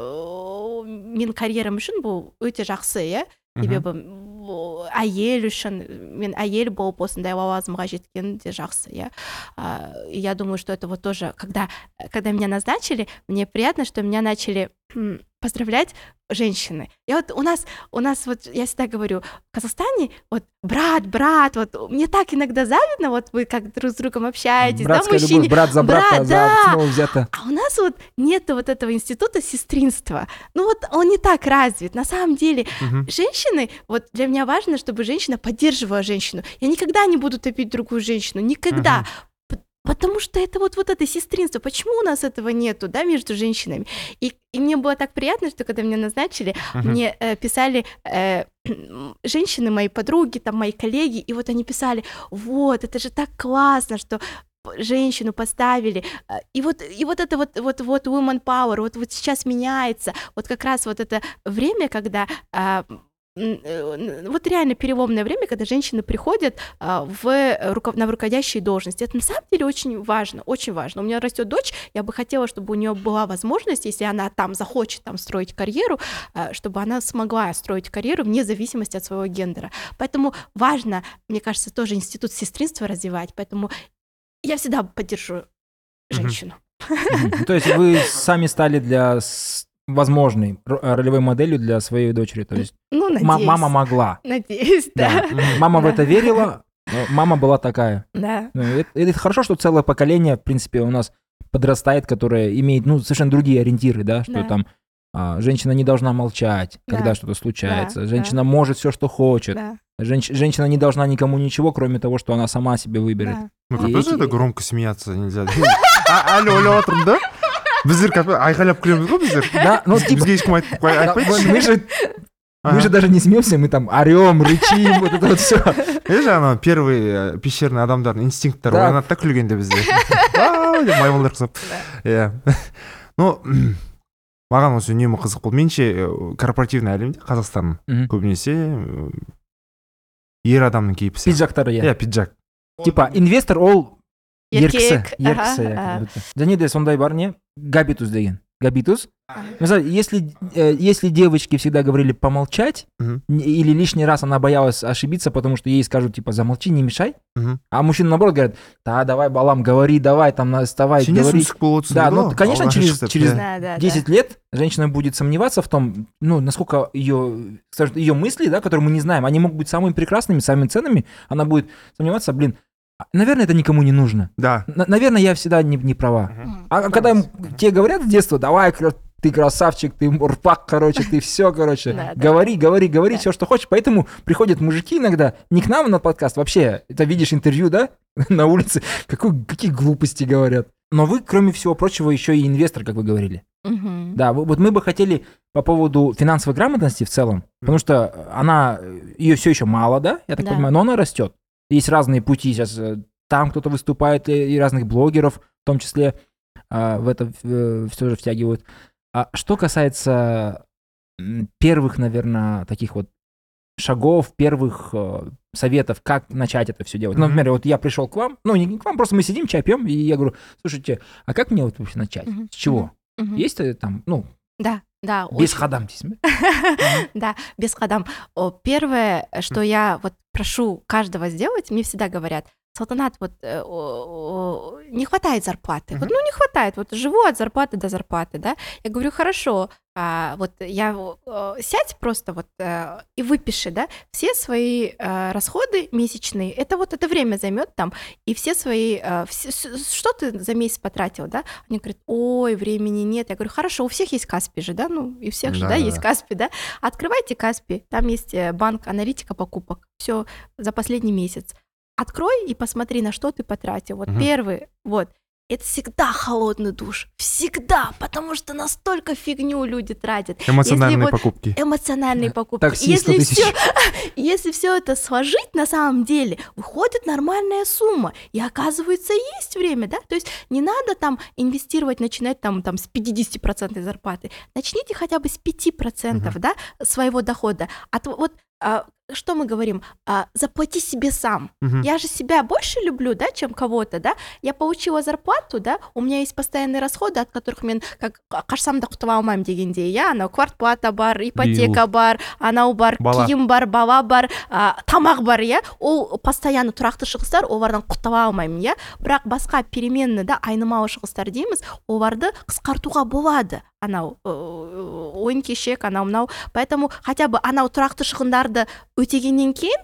A: менің карьерам үшін бұл өте жақсы, иә.
B: Мгм.
A: Себебі бұл әйел үшін, мен әйел болып осындай лауазымға жеткен де жақсы, иә. А, Я думаю, что это вот тоже, когда, когда меня назначили, мне приятно, что меня начали м, поздравлять женщины. И вот у нас, у нас вот, я всегда говорю, в Казахстане, вот, брат, брат, вот, мне так иногда завидно, вот вы как друг с другом общаетесь,
C: Братская
A: да, мужчине.
C: любовь, брат за брата,
A: Брат,
C: за
A: да.
C: основу взята.
A: А у нас вот нет вот этого института сестринства. Ну вот он не так развит. На самом деле,
B: Мгм.
A: женщины, вот для меня важно, чтобы женщина поддерживала женщину. Я никогда не буду топить другую женщину, никогда. П- Потому что это вот, вот это сестринство. Почему у нас этого нету, да, между женщинами? И, и мне было так приятно, что когда меня назначили,
B: Мгм.
A: мне э, писали э, женщины, мои подруги, там, мои коллеги, и вот они писали, вот, это же так классно, что п- женщину поставили. А, И вот, и вот это вот, вот, вот woman power, вот, вот сейчас меняется. Вот как раз вот это время, когда а, м, э, вот реально переломное время, когда женщины приходят а, в руков- на руководящие должности. Это на самом деле очень важно, очень важно. У меня растет дочь, я бы хотела, чтобы у нее была возможность, если она там захочет там строить карьеру, а, чтобы она смогла строить карьеру вне зависимости от своего гендера. Поэтому важно, мне кажется, тоже институт сестринства развивать. Поэтому я всегда поддержу женщину.
C: Мгм. То есть вы сами стали для с- возможной ро- ролевой моделью для своей дочери. То есть
A: Ну, надеюсь.
C: ма- мама могла.
A: Надеюсь, да.
C: Да. Мама в
A: Да.
C: это верила, но мама была такая.
A: Да.
C: Ну, Это, это хорошо, что целое поколение, в принципе, у нас подрастает, которое имеет, ну, совершенно другие ориентиры, да, что
A: Да.
C: там а, женщина не должна молчать,
A: Да.
C: когда что-то случается.
A: Да,
C: Женщина может все, что хочет.
A: Да.
C: Женщ- женщина не должна никому ничего, кроме того, что она сама себе выберет.
A: Да.
B: Ну,
C: И
B: капец,
C: эти-
B: это громко смеяться нельзя. А, алло, алло, отырмын да? Біздер капец айқайлап күлеміз ғой біздер.
C: Да, ну, типа,
B: Бізге ешкім айтып қой-
C: да,
B: айтпайды.
C: мы же, мы
B: Ага.
C: же даже не смеемся, мы там орем, рычим, вот это вот все.
B: е жаңағы первый э, пещерный адамдардың инстинкттары
C: Да.
B: оянады да күлгенде бізде. Ау деп маймылдар құсап. Иә. Ну, маған осы үнемі қызық болды. Меніңше э, корпоративный әлемде Қазақстан көбінесе э, ер адамның кейпі сияқты.
C: Пиджактары,
B: Иә,
C: иә.
B: пиджак.
C: Типа, инвестор ол ер кісі.
A: Еркек,
C: Ер
A: ага,
C: кісі, иә,
A: ага.
C: как будто. Және де сондай бар не? Габитус деген. Габитус. Мысалы, если, э, если девочки всегда говорили помолчать,
B: Мгм.
C: н- или лишний раз она боялась ошибиться, потому что ей скажут, типа, замолчи, не мешай,
B: Мгм.
C: а мужчины, наоборот, говорят, да, давай, балам, говори, давай, там, на- вставай,
B: Сенесің
C: говори.
B: түсік болып отырсың
C: Да,
B: дейді
C: ну,
B: ғой,
C: конечно,
B: алғаш
C: через-
B: шығып,
C: через-
B: иә.
A: Да, да, да.
C: десять лет женщина будет сомневаться в том, ну, насколько ее, скажем, ее мысли, да, которые мы не знаем, они могут быть самыми прекрасными, самыми ценными, она будет сомневаться, блин, а, наверное, это никому не нужно.
B: Да.
C: На- наверное, я всегда не, не права.
A: М.
C: А когда им- тебе говорят с детства, давай, кра- ты красавчик, ты рпак, короче, ты все, короче,
A: Да, да.
C: говори, говори, говори
A: Да.
C: все, что хочешь. Поэтому приходят мужики иногда, не к нам на подкаст, вообще, это видишь интервью, да, на улице, какой, какие глупости говорят. Но вы, кроме всего прочего, еще и инвестор, как вы говорили.
A: Мгм.
C: Да, вот вот мы бы хотели по поводу финансовой грамотности в целом, потому что она, ее все еще мало, да, я так
A: Да.
C: понимаю, но она растет. Есть разные пути сейчас, э, там кто-то выступает, и и разных блогеров, в том числе, а, в это все же втягивают. А что касается м, первых, наверное, таких вот шагов, первых э, советов, как начать это все делать. Ну,
B: Мгм.
C: например, вот я пришел к вам, ну, не к вам, просто мы сидим, чай пьем, и я говорю, слушайте, а как мне вот вообще начать?
A: Мгм.
C: С чего?
A: Мгм.
C: Есть э, там, ну,
A: Да, да.
C: без
A: очень.
C: ходам здесь?
A: Да, без ходам. О, Первое, что я вот прошу каждого сделать, мне всегда говорят, Салтанат, вот э, о- о, не хватает зарплаты. Вот,
B: Мгм.
A: ну, не хватает. Вот живу от зарплаты до зарплаты, да. Я говорю, хорошо, а, вот я э, сядь просто вот э, и выпиши, да, все свои э, расходы месячные. Это вот это время займет там, и все свои, э, все- с- что ты за месяц потратил, да? Они говорят, ой, времени нет. Я говорю, хорошо, у всех есть Каспи же, да, ну, и у всех же, да,
B: Да-да-да.
A: есть Каспи, да. Открывайте Каспи, там есть э, банк аналитика покупок, все за последний месяц. Открой и посмотри, на что ты потратил. Вот
B: Мгм.
A: первый, вот. Это всегда холодный душ. Всегда. Потому что настолько фигню люди тратят.
B: Эмоциональные
A: Если вот
B: покупки.
A: эмоциональные покупки.
C: Такси сто
A: Если
C: тысяч.
A: все, если все это сложить, на самом деле, выходит нормальная сумма. И оказывается, есть время, да? То есть не надо там инвестировать, начинать там, там с пятьдесят процентов зарплаты. Начните хотя бы с пяти процентов,
B: Мгм.
A: да, своего дохода. А то вот а, что мы говорим? А, заплати себе сам.
B: Мгм.
A: Я же себя больше люблю, да, чем кого-то, да? Я получила зарплату, да, у меня есть постоянные расходы, от которых мен как қарсамда құтыла алмаймын дегенде, иә, анау квартплата бар, ипотека бар, анау бар,
B: Бала.
A: киім бар, бала бар, а, тамақ бар, иә, ол постоянно тұрақты шығыстар, олардан құтыла алмаймын, иә, бірақ басқа переменный, да, айнымалы шығыстар дейміз, оларды қысқартуға болады, анау э, ойын кешек, анау мынау, поэтому хотя бы анау тұрақты шығындарды өтегеннен кейін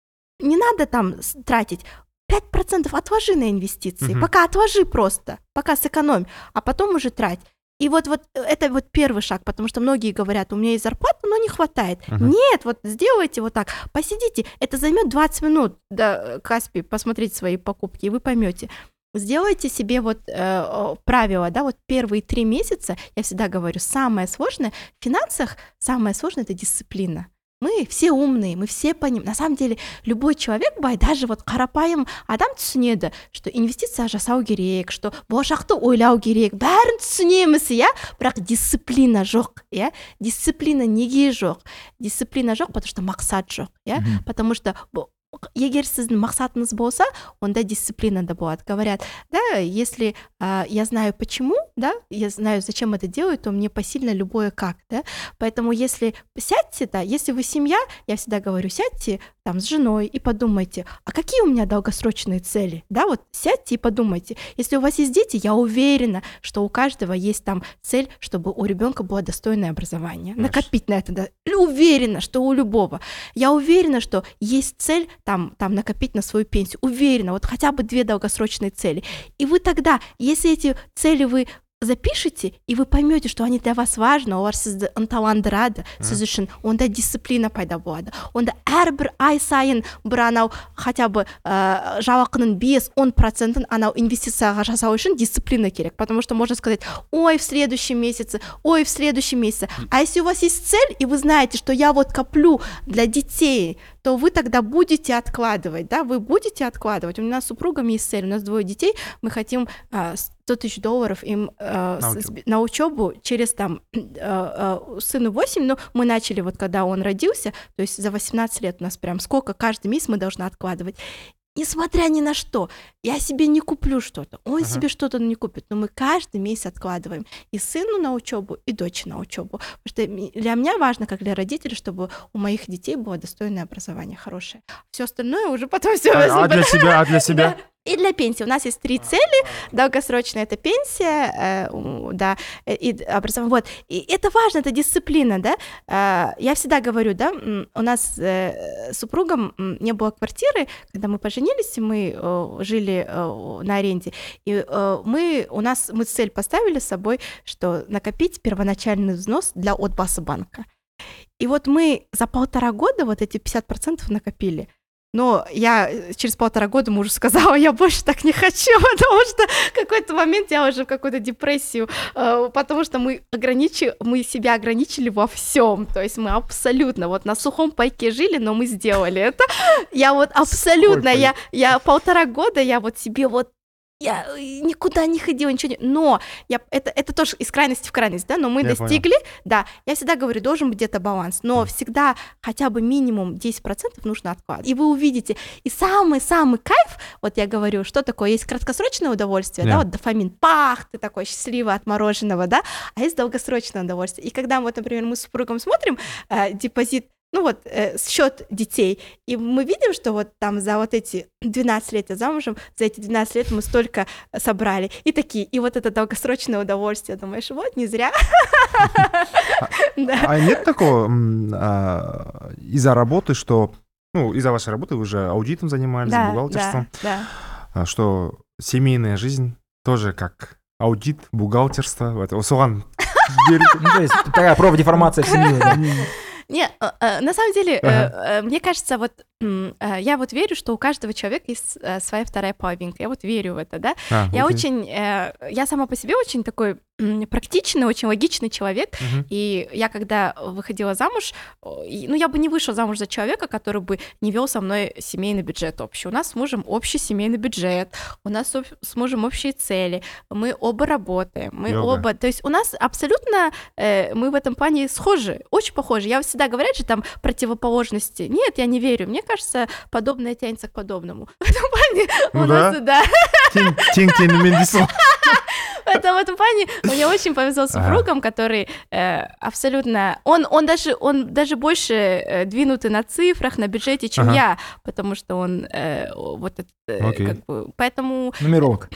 A: не надо там с- тратить. пять процентов отложи на инвестиции.
B: Мгм.
A: Пока отложи просто, пока сэкономь, а потом уже трать. И вот, вот это вот первый шаг, потому что многие говорят, у меня есть зарплата, но не хватает.
B: Мгм.
A: Нет, вот сделайте вот так, посидите, это займет двадцать минут, да, Каспи, посмотреть свои покупки, и вы поймете. Сделайте себе вот э, э, правило, да, вот первые три месяца, я всегда говорю, самое сложное в финансах, самое сложное — это дисциплина. Мы все умные, мы все понимаем. На самом деле, любой человек, бай, даже вот қарапайым адам түсінеді, что инвестиция жасау керек, что болашақты ойлау керек, бәрін түсінеміз, иә, бірақ дисциплина жоқ, иә, дисциплина неге жоқ? Дисциплина жоқ, потому что мақсат жоқ, иә,
C: Мгм.
A: потому что б- егер сіздің мақсатыңыз болса, онда дисциплина да болады. Говорят, да, если а, я знаю почему, да, я знаю, зачем это делаю, то мне посильно любое как, да. Поэтому если сядьте, да, если вы семья, я всегда говорю, сядьте там с женой и подумайте, а какие у меня долгосрочные цели, да, вот сядьте и подумайте. Если у вас есть дети, я уверена, что у каждого есть там цель, чтобы у ребенка было достойное образование,
B: Конечно.
A: накопить на это, да. Уверена, что у любого. Я уверена, что есть цель там, там накопить на свою пенсию. Уверена, вот хотя бы две долгосрочные цели. И вы тогда, если эти цели вы запишите, и вы поймете, что они для вас важны, олар сізді ынталандырады, сіз үшін онда дисциплина пайда болады. Онда әрбір ай сайын бір анау хотя бы ә, жалақының бес-он процентын анау инвестицияға жасау үшін дисциплина керек, потому что можно сказать, ой, в следующем месяце, ой, в следующем месяце. А если у вас есть цель, и вы знаете, что я вот коплю для детей, то вы тогда будете откладывать, да, вы будете откладывать. У нас с супругом есть цель, у нас двое детей, мы хотим а, сто тысяч долларов им а,
B: На
A: с-
B: учебу.
A: на учебу через там а, а, сыну восемь, но мы начали вот когда он родился, то есть за восемнадцать лет у нас прям сколько каждый месяц мы должны откладывать. Несмотря ни на что, я себе не куплю что-то, он
B: Ага.
A: себе что-то не купит, но мы каждый месяц откладываем и сыну на учебу, и дочери на учебу. Потому что ми- для меня важно, как для родителей, чтобы у моих детей было достойное образование, хорошее. Все остальное уже потом все.
B: А, а для себя, а для себя?
A: И для пенсии. У нас есть три цели. Долгосрочная — это пенсия, э, у- да, э, и образование. Вот. И это важно, это дисциплина, да. Э, Я всегда говорю, да, м, у нас э, с супругом м, не было квартиры, когда мы поженились, мы э, жили э, на аренде, и э, мы, у нас, мы цель поставили с собой, что накопить первоначальный взнос для отбаса банка. И вот мы за полтора года вот эти пятьдесят процентов накопили. Но я э, через полтора года мужу сказала, я больше так не хочу, потому что в какой-то момент я уже в какую-то депрессию, э, потому что мы, ограничи, мы себя ограничили во всем, то есть мы абсолютно вот на сухом пайке жили, но мы сделали это. Я вот абсолютно, я, я полтора года, я вот себе вот я э, никуда не ходила, ничего не... Но я, это, это тоже из крайности в крайность, да, но мы
B: Я
A: достигли, да, я всегда говорю, должен быть где-то баланс, но всегда хотя бы минимум десять процентов нужно откладывать. И вы увидите, и самый-самый кайф, вот я говорю, что такое, есть краткосрочное удовольствие,
B: Да.
A: да, вот дофамин, пах, ты такой счастливый от мороженого, да, а есть долгосрочное удовольствие. И когда вот, например, мы с супругом смотрим э, депозит ну вот, э, счет детей. И мы видим, что вот там за вот эти двенадцать лет я замужем, за эти двенадцать лет мы столько собрали. И такие, и вот это долгосрочное удовольствие. Думаешь, вот, не зря.
B: А нет такого из-за работы, что, ну, из-за вашей работы вы же аудитом занимались, бухгалтерством, что семейная жизнь тоже как аудит, бухгалтерство, соған
C: Ну, то есть такая профдеформация в семье, да?
A: Не, на самом деле,
B: Ага.
A: мне кажется, вот я вот верю, что у каждого человека есть своя вторая половинка. Я вот верю в это, да.
B: А,
A: Я
B: окей.
A: очень, я сама по себе очень такой практичный, очень логичный человек.
B: Мгм.
A: И я когда выходила замуж, и- ну, я бы не вышла замуж за человека, который бы не вел со мной семейный бюджет общий. У нас с мужем общий семейный бюджет, у нас об- с мужем общие цели, мы оба работаем, мы
B: Йога.
A: оба... То есть у нас абсолютно, э, мы в этом плане схожи, очень похожи. Я всегда говорят же там противоположности. Нет, я не верю. Мне кажется, подобное тянется к подобному. В этом плане
B: Ну
A: у нас, да,
B: Тең тең теңімен дейсің ғой.
A: в этом, в этом плане мне очень повезло с супругом, который э, абсолютно... Он, он, даже, он даже больше э, двинутый на цифрах, на бюджете, чем
B: Ага.
A: я, потому что он э, вот это... э,
B: Окей.
A: как бы, поэтому...
C: Нумеролог.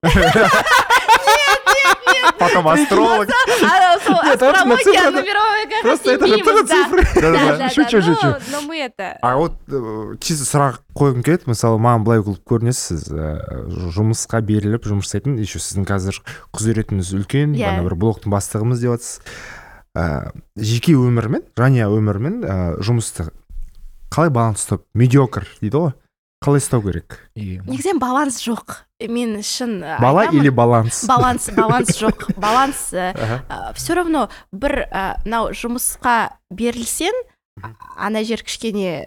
B: Потом астролог.
A: А, со-
C: Нет, это на
A: астрология,
C: цифры-
A: нумерология как раз
C: Просто
A: не
C: это же
A: мимо,
C: тоже
A: да.
C: цифры.
A: Да,
B: Да-да-да.
A: да,
C: Шучу,
A: да,
C: шучу.
A: но- но мы это...
B: А вот э, чисто сұрақ қойғым келеді, мысалы маған былай қылып көрінесіз, ә, жұмысқа беріліп жұмыс жасайтын, еще сіздің қазір құзыретіңіз үлкен,
A: Иә.
B: ана бір блоктың бастығымыз деп жатсыз. Ә, жеке өмірмен, жанұя өмірмен ә, жұмысты қалай баланс ұстап, медиокр дейді ғой, қалай ұстау керек?
C: И-
A: Негізінен баланс жоқ. Мен шын
B: Бала
A: айтамын,
B: или баланс?
A: баланс баланс жоқ. Баланс
B: Аха.
A: все равно бір ә, мынау жұмысқа берілсең, ана жер кішкене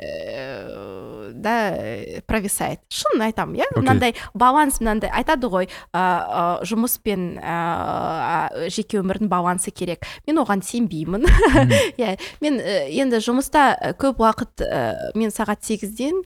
A: ә, да ә, провисает. Шын айтамын, иә?
B: Окей.
A: Мынандай баланс, мынандай айтады ғой, ә, ә, жұмыс пен ә, жеке өмірдің балансы керек. Мен оған сенбеймін.
C: Мгм.
A: Иә, мен ә, енді жұмыста ә, көп уақыт ә, мен сағат сегізден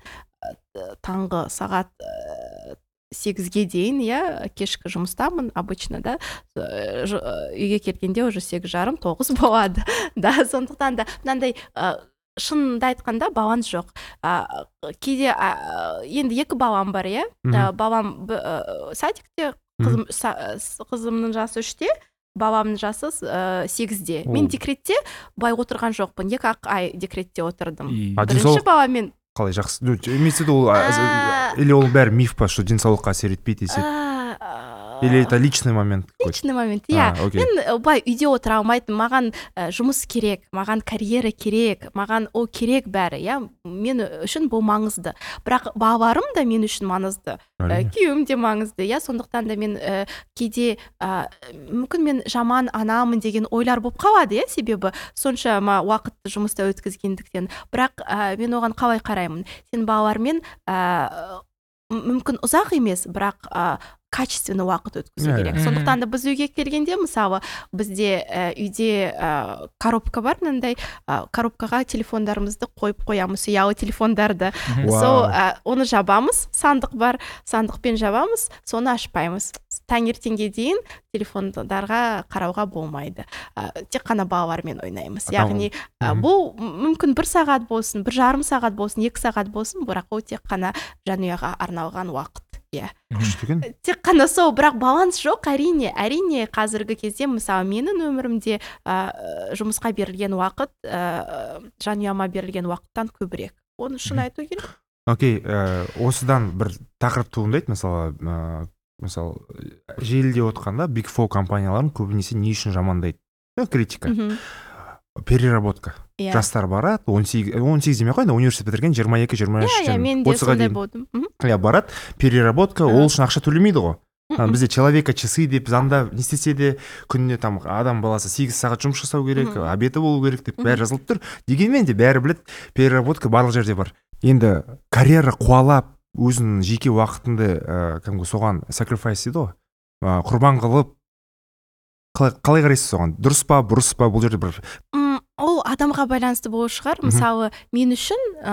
A: ә, таңғы сағат ә, сегізге дейін, иә, кешкі жұмыстамын обычно, да, Э, ж- э, үйге келгенде уже сегіз жарым тоғыз болады, да, сондықтан да мынандай ә, шынымды айтқанда баланс жоқ. А, кейде а, енді екі балам бар, иә,
B: Мгм.
A: Ә, балам б- ә, садикте, қызым, са- с- қызымның жасы үште, баламның жасы ә, сегізде. Мен
B: О.
A: декретте былай отырған жоқпын, екі ақ ай декретте отырдым.
C: И-
B: А
A: Бірінші
B: денсаулық
A: баламен
B: қалай жақсы? Ну, имеется в виду, ол,
A: А.
B: ә, или ол бәрі миф па, что денсаулыққа әсер етпейді деседі?
A: а, а,
B: Или это личный момент какой-то?
A: личный момент,
B: А,
A: иә.
B: окей.
A: Мен э, былай үйде отыра алмайтын, маған ә, жұмыс керек, маған карьера керек, маған ол керек бәрі, иә, мен үшін бұл маңызды. Бірақ балаларым да мен үшін маңызды, ә,
B: Әрине.
A: күйеуім де маңызды, иә, сондықтан да мен ә, кейде ә, мүмкін мен жаман анамын деген ойлар болып қалады, иә, себебі соншама уақытты жұмыста өткізгендіктен. Бірақ ә, мен оған қалай қараймын? Сен балалармен ә, мүмкін ұзақ емес, бірақ ә, качественный уақыт өткізу
B: Иә,
A: керек.
C: иә.
A: Сондықтан да біз үйге келгенде, мысалы, бізде ә, үйде ә, коробка бар, мынандай ә, коробкаға телефондарымызды қойып қоямыз, ұялы телефондарды.
C: Мгм.
B: Вау.
A: Сол ә, оны жабамыз, сандық бар, сандықпен жабамыз, соны ашпаймыз. Таңертеңге дейін телефондарға қарауға болмайды. Ә, тек қана балалармен ойнаймыз.
B: А там-
A: Яғни ә,
B: Мгм.
A: бұл мүмкін бір сағат болсын, бір жарым сағат болсын, екі сағат болсын, бірақ ол тек қана жанұяға арналған уақыт. Иә.
B: Күшті екен.
A: Тек қана сол, бірақ баланс жоқ, әрине. Әрине, қазіргі кезде, мысалы, менің өмірімде ә, жұмысқа берілген уақыт, ә, жанұяма берілген уақыттан көбірек. Оны шын
B: Мгм.
A: айту керек.
B: Окей, ә, осыдан бір тақырып туындайды, мысалы, ә, мысалы, желіде отқанда Big Four компанияларын көбінесе не үшін жамандайды? Ну, критика.
A: Мгм.
B: Переработка.
A: Иә.
B: Жастар барады, он сегіз, он сегіз демей ақ қойды, университет бітірген жиырма екі жиырма үш
A: Иә, иә, мен де
B: отызға
A: сондай
B: дейін.
A: болдым. Мгм.
B: Иә, барады, переработка,
A: Ага.
B: ол үшін ақша төлемейді ғой. А,
A: Мгм.
B: бізде человека часы деп заңда не істесе де күніне там адам баласы сегіз сағат жұмыс жасау керек,
A: Мгм.
B: обеті болу керек деп
A: Мгм.
B: бәрі жазылып тұр. Дегенмен де бәрі біледі, переработка барлық жерде бар. Енді карьера қуалап, өзінің жеке уақытыңды ә, кәдімгі соған sacrifice дейді ғой, ә, құрбан қылып, қалай, қалай қарайсыз соған? Дұрыс па, бұрыс па, бұл жерде бір
A: М, ол адамға байланысты болу шығар.
B: Мгм.
A: Мысалы, мен үшін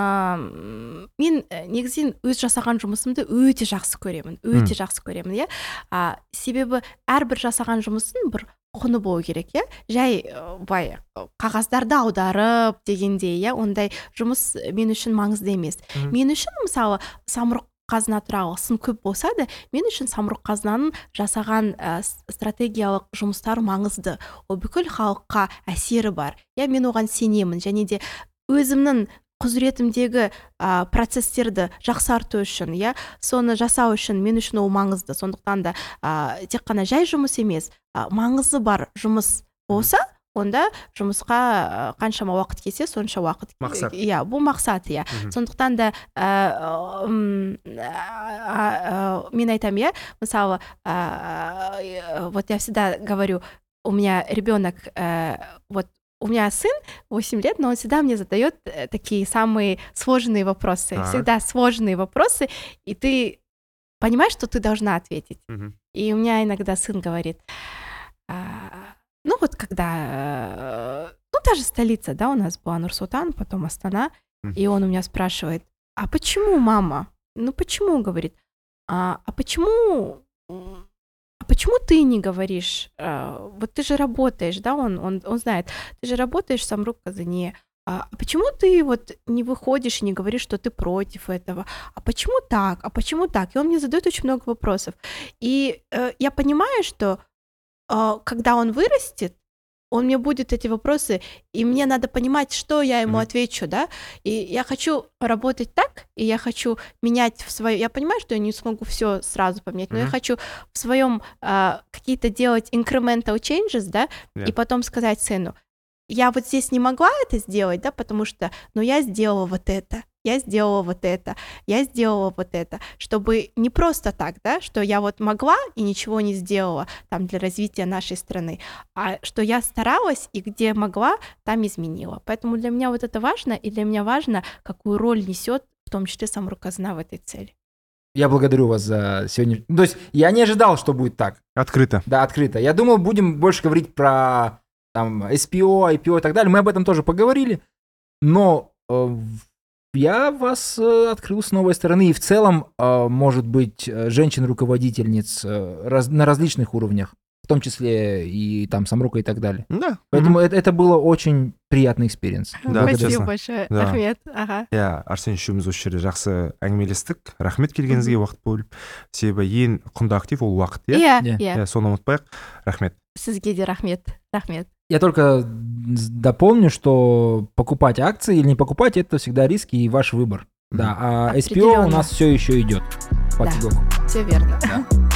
A: ә, мен ә, негізінен өз жасаған жұмысымды өте жақсы көремін, өте жақсы көремін, иә. А, себебі әрбір жасаған жұмысын бір құны болу керек, иә. Жай ә, былай қағаздарды аударып дегендей, иә, ондай жұмыс мен үшін маңызды емес.
B: Мгм.
A: Мен үшін мысалы самұрық қазына туралы сын көп болса да, мен үшін самұрық қазынаның жасаған ә, с- стратегиялық жұмыстары маңызды. Ол бүкіл халыққа әсері бар. Иә, мен оған сенемін, және де өзімнің құзыретімдегі ә, процесстерді жақсарту үшін, иә, соны жасау үшін мен үшін ол маңызды. Сондықтан да ә, тек қана жай жұмыс емес, ә, маңызы бар жұмыс болса, онда жұмысқа ә, қаншама уақыт кетсе, сонша уақыт.
B: Мақсат.
A: Иә, бұл мақсат, иә.
B: Мгм.
A: Сондықтан да ә, м, ә, ә, мен айтамын, иә, мысалы, ә, вот я всегда говорю, у меня ребенок, ә, вот у меня сын восемь лет, но он всегда мне задает э, такие самые сложные вопросы,
B: Так.
A: всегда сложные вопросы, и ты понимаешь, что ты должна ответить.
B: Мгм.
A: И у меня иногда сын говорит, а, ну вот когда, э, ну та же столица, да, у нас была Нур-Султан, потом Астана,
B: Мгм.
A: и он у меня спрашивает, а почему, мама? Ну почему, говорит, а, а почему, м, а почему ты не говоришь, а, вот ты же работаешь, да, он, он, он знает, ты же работаешь в Самрук Казани, а а почему ты вот не выходишь и не говоришь, что ты против этого? А почему так? А почему так? И он мне задает очень много вопросов. И э, я понимаю, что э, когда он вырастет, он мне будет эти вопросы, и мне надо понимать, что я ему
B: Мгм.
A: отвечу, да. И я хочу работать так, и я хочу менять в свое. Я понимаю, что я не смогу все сразу поменять, но я
B: Мгм.
A: хочу в своем а, какие-то делать incremental changes, да,
B: Да.
A: и потом сказать сыну, я вот здесь не могла это сделать, да, потому что, ну, я сделала вот это, я сделала вот это, я сделала вот это, чтобы не просто так, да, что я вот могла и ничего не сделала там для развития нашей страны, а что я старалась и где могла, там изменила. Поэтому для меня вот это важно, и для меня важно, какую роль несет в том числе Самрук Казына в этой цели.
C: Я благодарю вас за сегодня. То есть я не ожидал, что будет так.
B: Открыто.
C: Да, открыто. Я думал, будем больше говорить про там эс пи о, ай пи о и так далее. Мы об этом тоже поговорили. Но э, в- я вас э, открыл с новой стороны. И в целом, э, может быть, э, женщин-руководительниц э, раз- на различных уровнях, в том числе и там Самрука и так далее.
B: Да.
C: Поэтому это, это было очень приятный экспириенс.
B: Да,
A: Спасибо
B: честно.
A: большое,
B: Да.
A: Ахмет. Ага.
B: Иә, Арсен үшеуміз осы жерде жақсы әңгімелестік. Рахмет келгеніңізге уақыт бөліп. Себебі ең құнды актив ол уақыт, иә?
A: Иә,
C: Иә.
A: иә.
B: Иә, соны ұмытпайық. Рахмет.
A: Сізге де рахмет. Рахмет.
C: Я только дополню, что покупать акции или не покупать, это всегда риски и ваш выбор. Да, а эс пи о у
A: Определенно.
C: нас все еще идет.
A: Да.
C: Потихоньку.
A: Все верно.
C: Да.